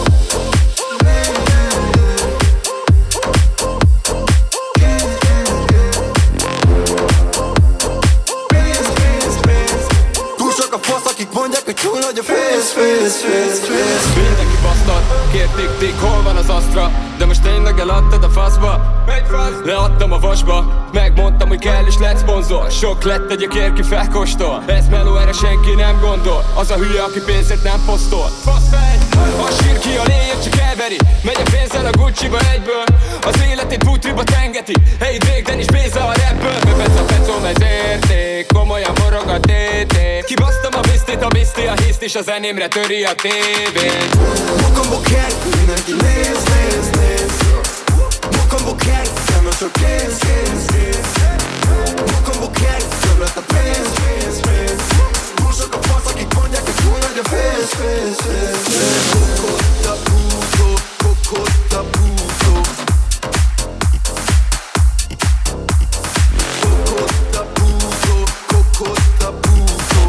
Mondják, hogy túl nagy a fész, fész, fész, fész. Mindenki basztad, kérték, hol van az Astra? De most tényleg eladtad a faszba? Leadtam a vasba, megmondtam, hogy kell és lett szponzor. Sok lett, egy kérki felkóstol. Ez meló, erre senki nem gondol. Az a hülye, aki pénzért nem posztol. Faszfej, a sír ki a léjét csak elveri. Megy a pénzzel a Gucci-ba egyből. Az életét bútriba tengeti. Hey Drake, Dennis Béza a rapből. Bebez a pecom, ez érték. Komolyan morog a tétét. Kibasztam a bisztét, a biszti a hiszt, és a zenémre töri a tévét. Mukambo gang, mindenki néz, néz, néz. Mukambo gang, fenn a sok kéz, kéz, kéz. Mukambo gang, több lett a pénz, pénz, pénz. Túl sok a fasz, akik mondják, hogy túl nagy a fész, fész, fész, fész. Kokotta puto, kokotta puto. Kokotta puto, kokotta puto.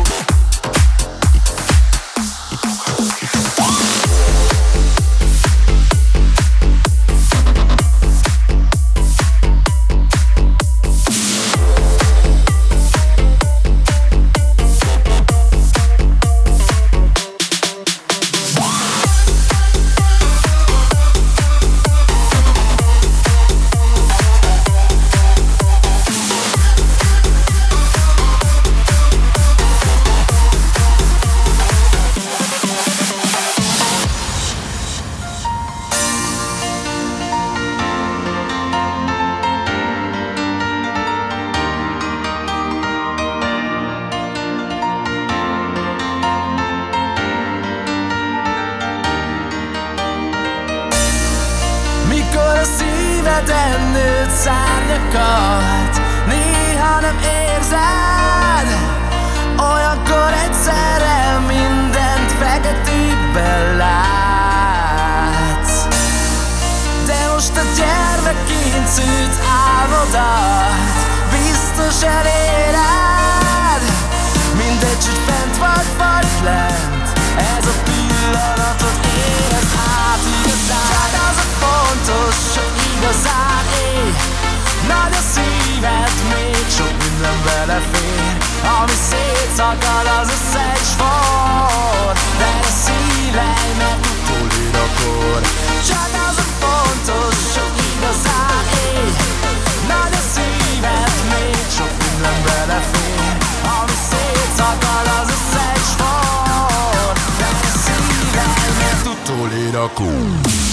szárnyakat néha nem érzed, olyankor egyszerre mindent feketében látsz. De most a gyermekként szült álmodat biztos eléred, mindegy, hogy fent vagy lent, ez a pillanatot érez át igazán. Csak az a fontos, hogy igazán élj, nagy a szíved, még sok minden belefér, ami szétszakad az összes for, de a szíved meg utolérd akkor. Csak az a fontos, hogy igazán élj, nagy a szíved, még sok minden belefér, ami szétszakad az összes for, de a szíved meg utolérd akkor.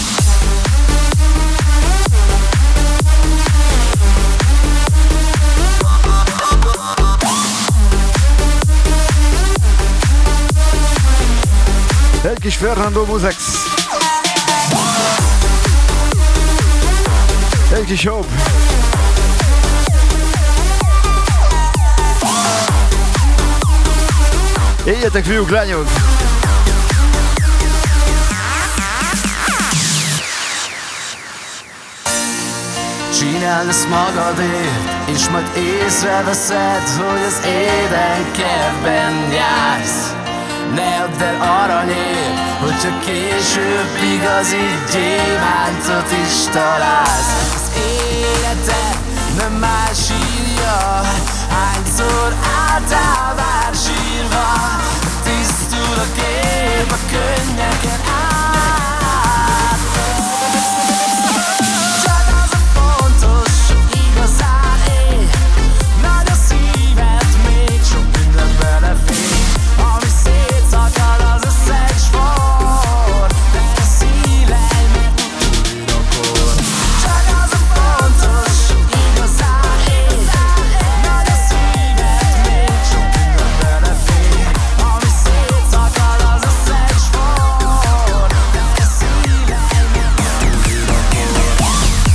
Egy kis Fernando Musex. Egy kis jobb. Éljetek, fiúk, lányok! Csináld ezt magadért, és majd észreveszed, hogy az édenkertben jársz. Ne add el aranyért, hogyha később igazi gyémántot is találsz. Az életed nem más írja, hányszor álltál már sírva. Tisztul a kép a könnyeken át. Csak az a fontos, hogy igazán élj. Nagy a szíved, még sok minden belefér. Ami szétszakad, az összeg sport. De a szíved, mert újrakor. Csak az a fontos, hogy igazán élj. Nagy a szíved, még sok minden belefér. Ami szétszakad, az összeg sport. De a szíved, mert újrakor.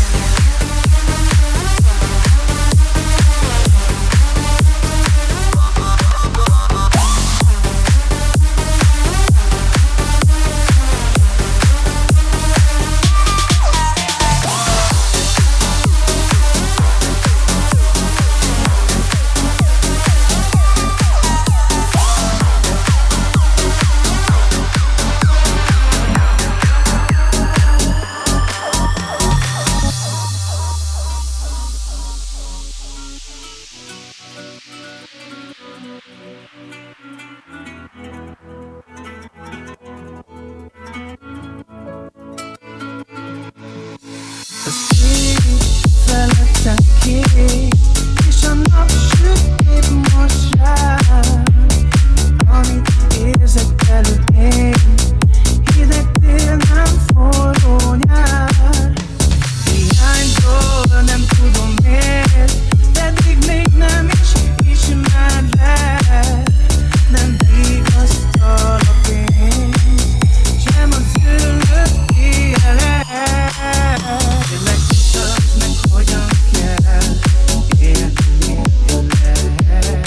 Felettem ki, és a nap süt épp most rám. Amit érzek belül én, hideg tél, nem forró nyár. Hiánytól nem tudom miért, pedig még nem is ismerlek. Nem vigasztal a pénz, sem az ülök élet. Tényleg mutasd meg, hogyan kell élni veled.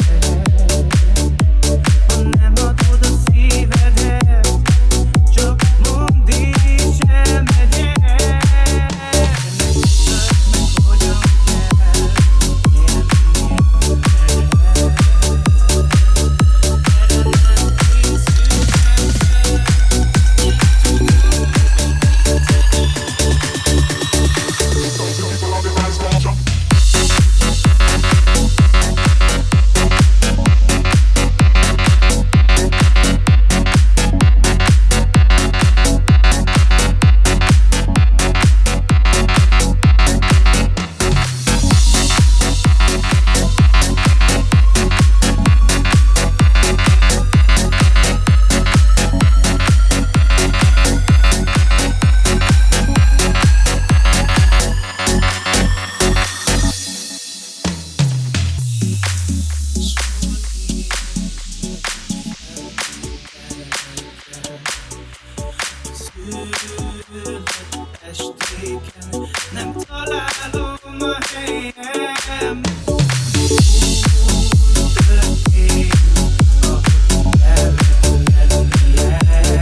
Ha nem adod a szívedet, csak mondd és elmegyek. Tényleg mutasd meg, hogyan kell élni estéken, nem találom a helyem. Történt, ahogy kellett lennie.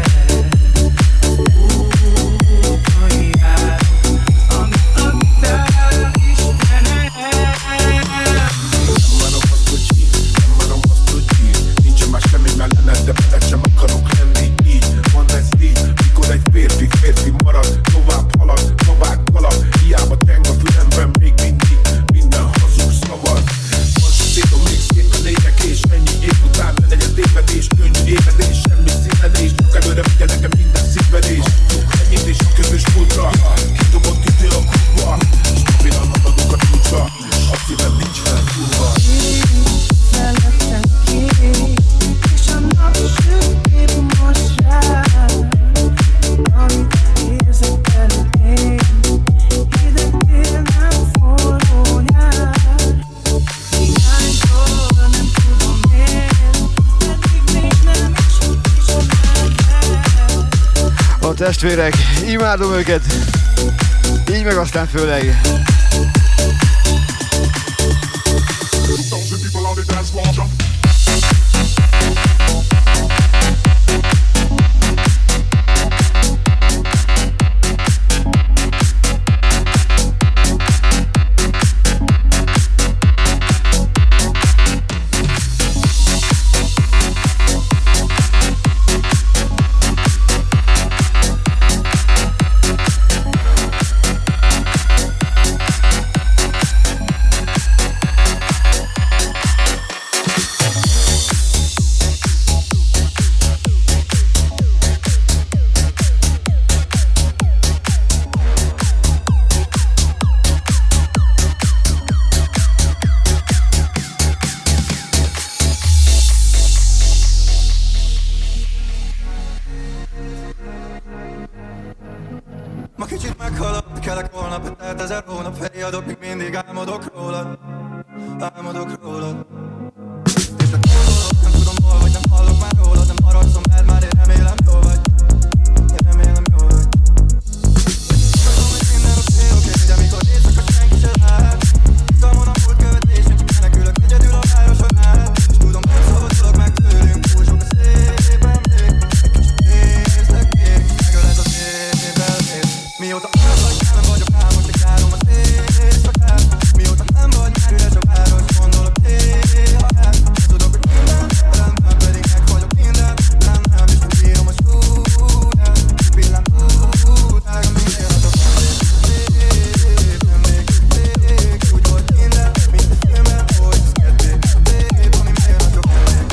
Úton járok, amit adtál Istenem. Nem marom azt, hogy hív, nem marom azt, hogy hív. Nincsen más semmi mellett, de veled sem akarok lenni így. Van ez így, mikor egy férfi marad, tovább halad, babák kalap. Hiába teng a fülemben még mindig minden hazug szavad. Most szétom még szép a lények, és ennyi év után ne legyen tévedés, könnyű évedés, semmi színedés. Csak előre vigye nekem minden szívvedés. Ennyit és a közös múltra, kidobott idő a kurva. Stabilan haladunk a csúcsra, a szívem nincs felfúrva. Felettem ki, és a nap süt épp most rám. Amit érzek belül én, hideg tél, nem forró nyár. Hiánytól nem tudom miért, pedig még nem is ismerlek. A testvérek, imádom őket, így meg aztán főleg. rólad, álmodok rólad. És te gondolod, nem tudom hol vagy, nem hallok már rólad. Nem haragszom, mert már én remélem jól vagy. Én remélem jól vagy. Tudom, hogy minden oké, de mikor éjszaka senki se lát. Izgalmon a múlt követés, én csak menekülök egyedül a városon át. És tudom, nem szabadulok meg tőlünk, túl sok a szép emlék. Egy kicsit nézlek még, és megöled az évelét. Mióta nem vagy, nem vagyok rá, most csak járom az éjszakát. Mióta nem vagy, már üres a város, gondolok néha rád. Tudok, hogy minden rendben, pedig meg vagyok minden. Nem, és úgy írom a súlyát. Pillanat után, minél adok szép emlék. Úgy volt minden, mint egy filmben, hogy ez kedvék. Ami megjelent sok emlék.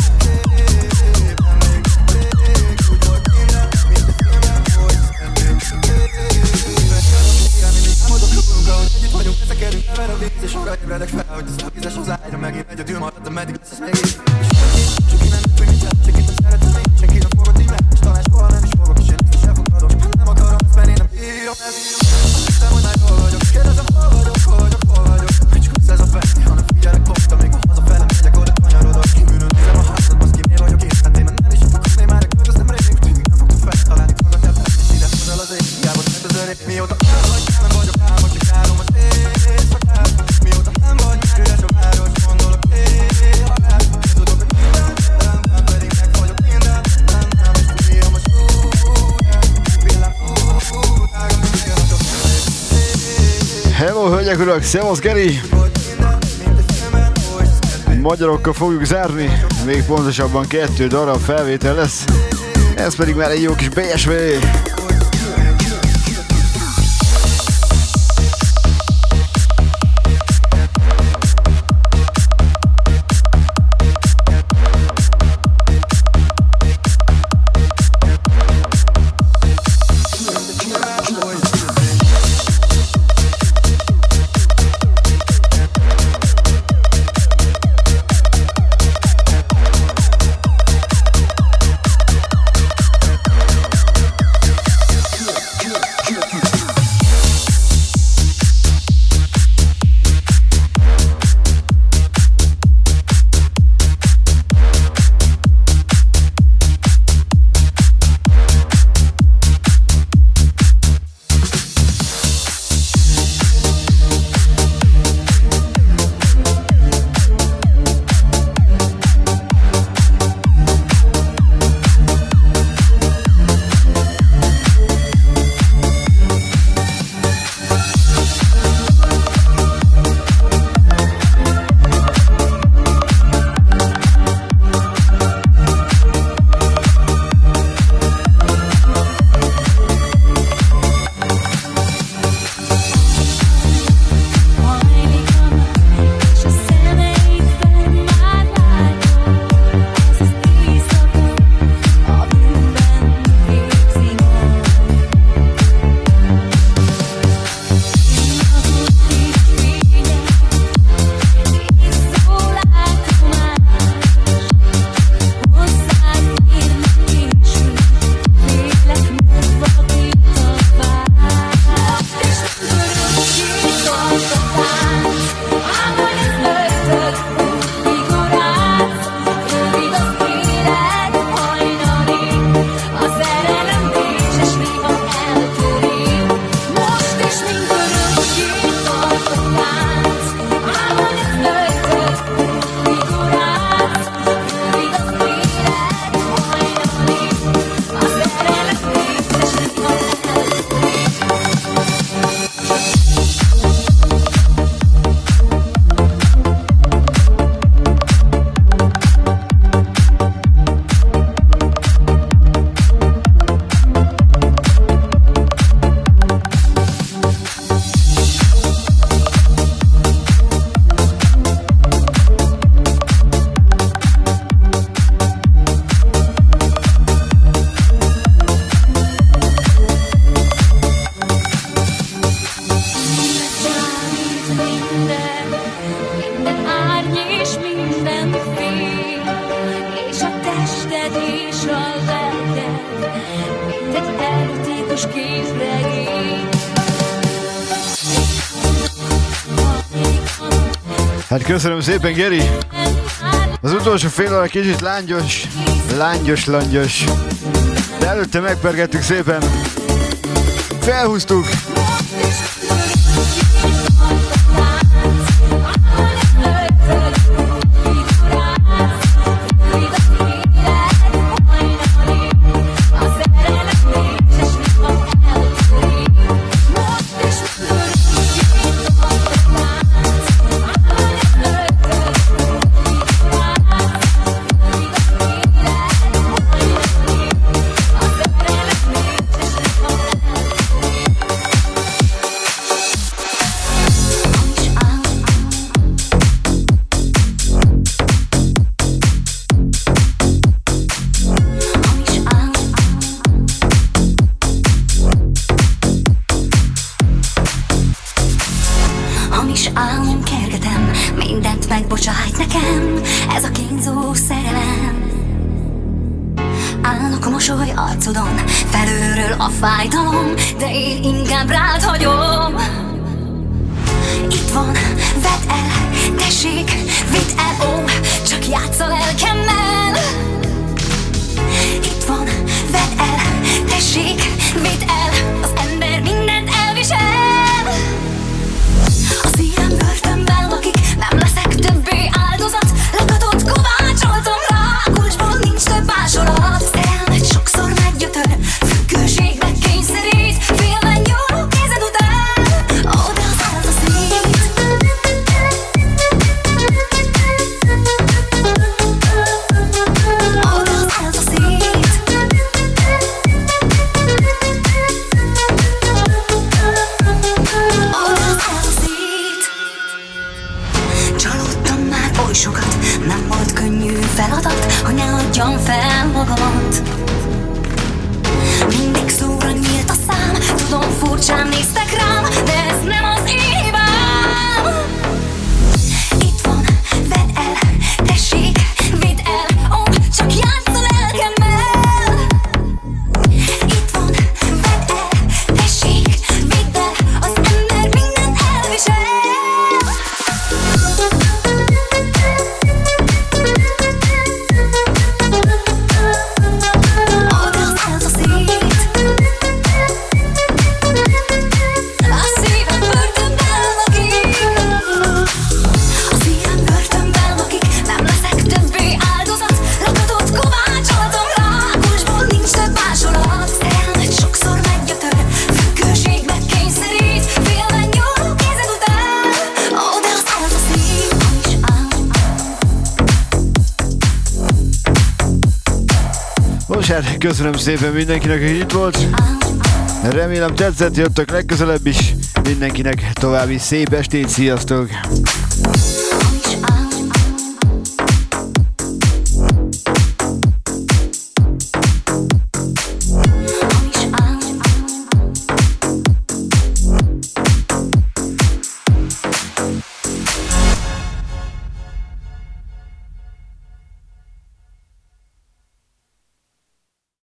Úgy volt minden, mint egy filmben, hogy ez kedvék. Álmodok rúgunk, ahogy együtt vagyunk, veszekedünk, never a víz. És arra ébredek fel, hogy ez a vízes az ágyra. Megint egyedül maradtam, meddig lesz ez még így. És senki nem tud, hogy mit csinál, senkit nem szeretem én. Senki nem fogod így meg, és talán soha nem is fogok. És én ezt is elfogadok, nem akarom ezt, mert én nem bírom ezt. Hiszem, hogy már jól vagyok, kérdezem, hol vagyok. Hogy csak ez a veszni, hanem figyelek pont, amíg a hazafele megyek, oda kanyarodok. Kívülről nézem a házat, baszki, miért vagyok én? Hát én nem is akarnék már, költöztem rég. Tűnik nem fogtok fel, találni magadját, és ide hozzál az ég. Hiába tett az öreg, mióta nem vagy, nem vagyok rá, most csak járom az éjszakát. Mióta nem vagy, már üres a város, gondolok néha rád. Tudok, hogy minden rendben, pedig meg vagyok minden. Nem, és úgy írom a súlyát. Pillanat után, minél adok szép. Hello, hölgyek, urak, szevasz, Geri! Magyarokkal fogjuk zárni, még pontosabban 2 darab felvétel lesz. Ez pedig már egy jó kis BSV. erotikus képregény. Hát köszönöm szépen, Geri. Az utolsó fél óra kicsit lángyos. De előtte megpergettük szépen. Felhúztuk. Köszönöm szépen mindenkinek, hogy itt volt. Remélem tetszett, jöttök legközelebb is. Mindenkinek további szép estét, sziasztok!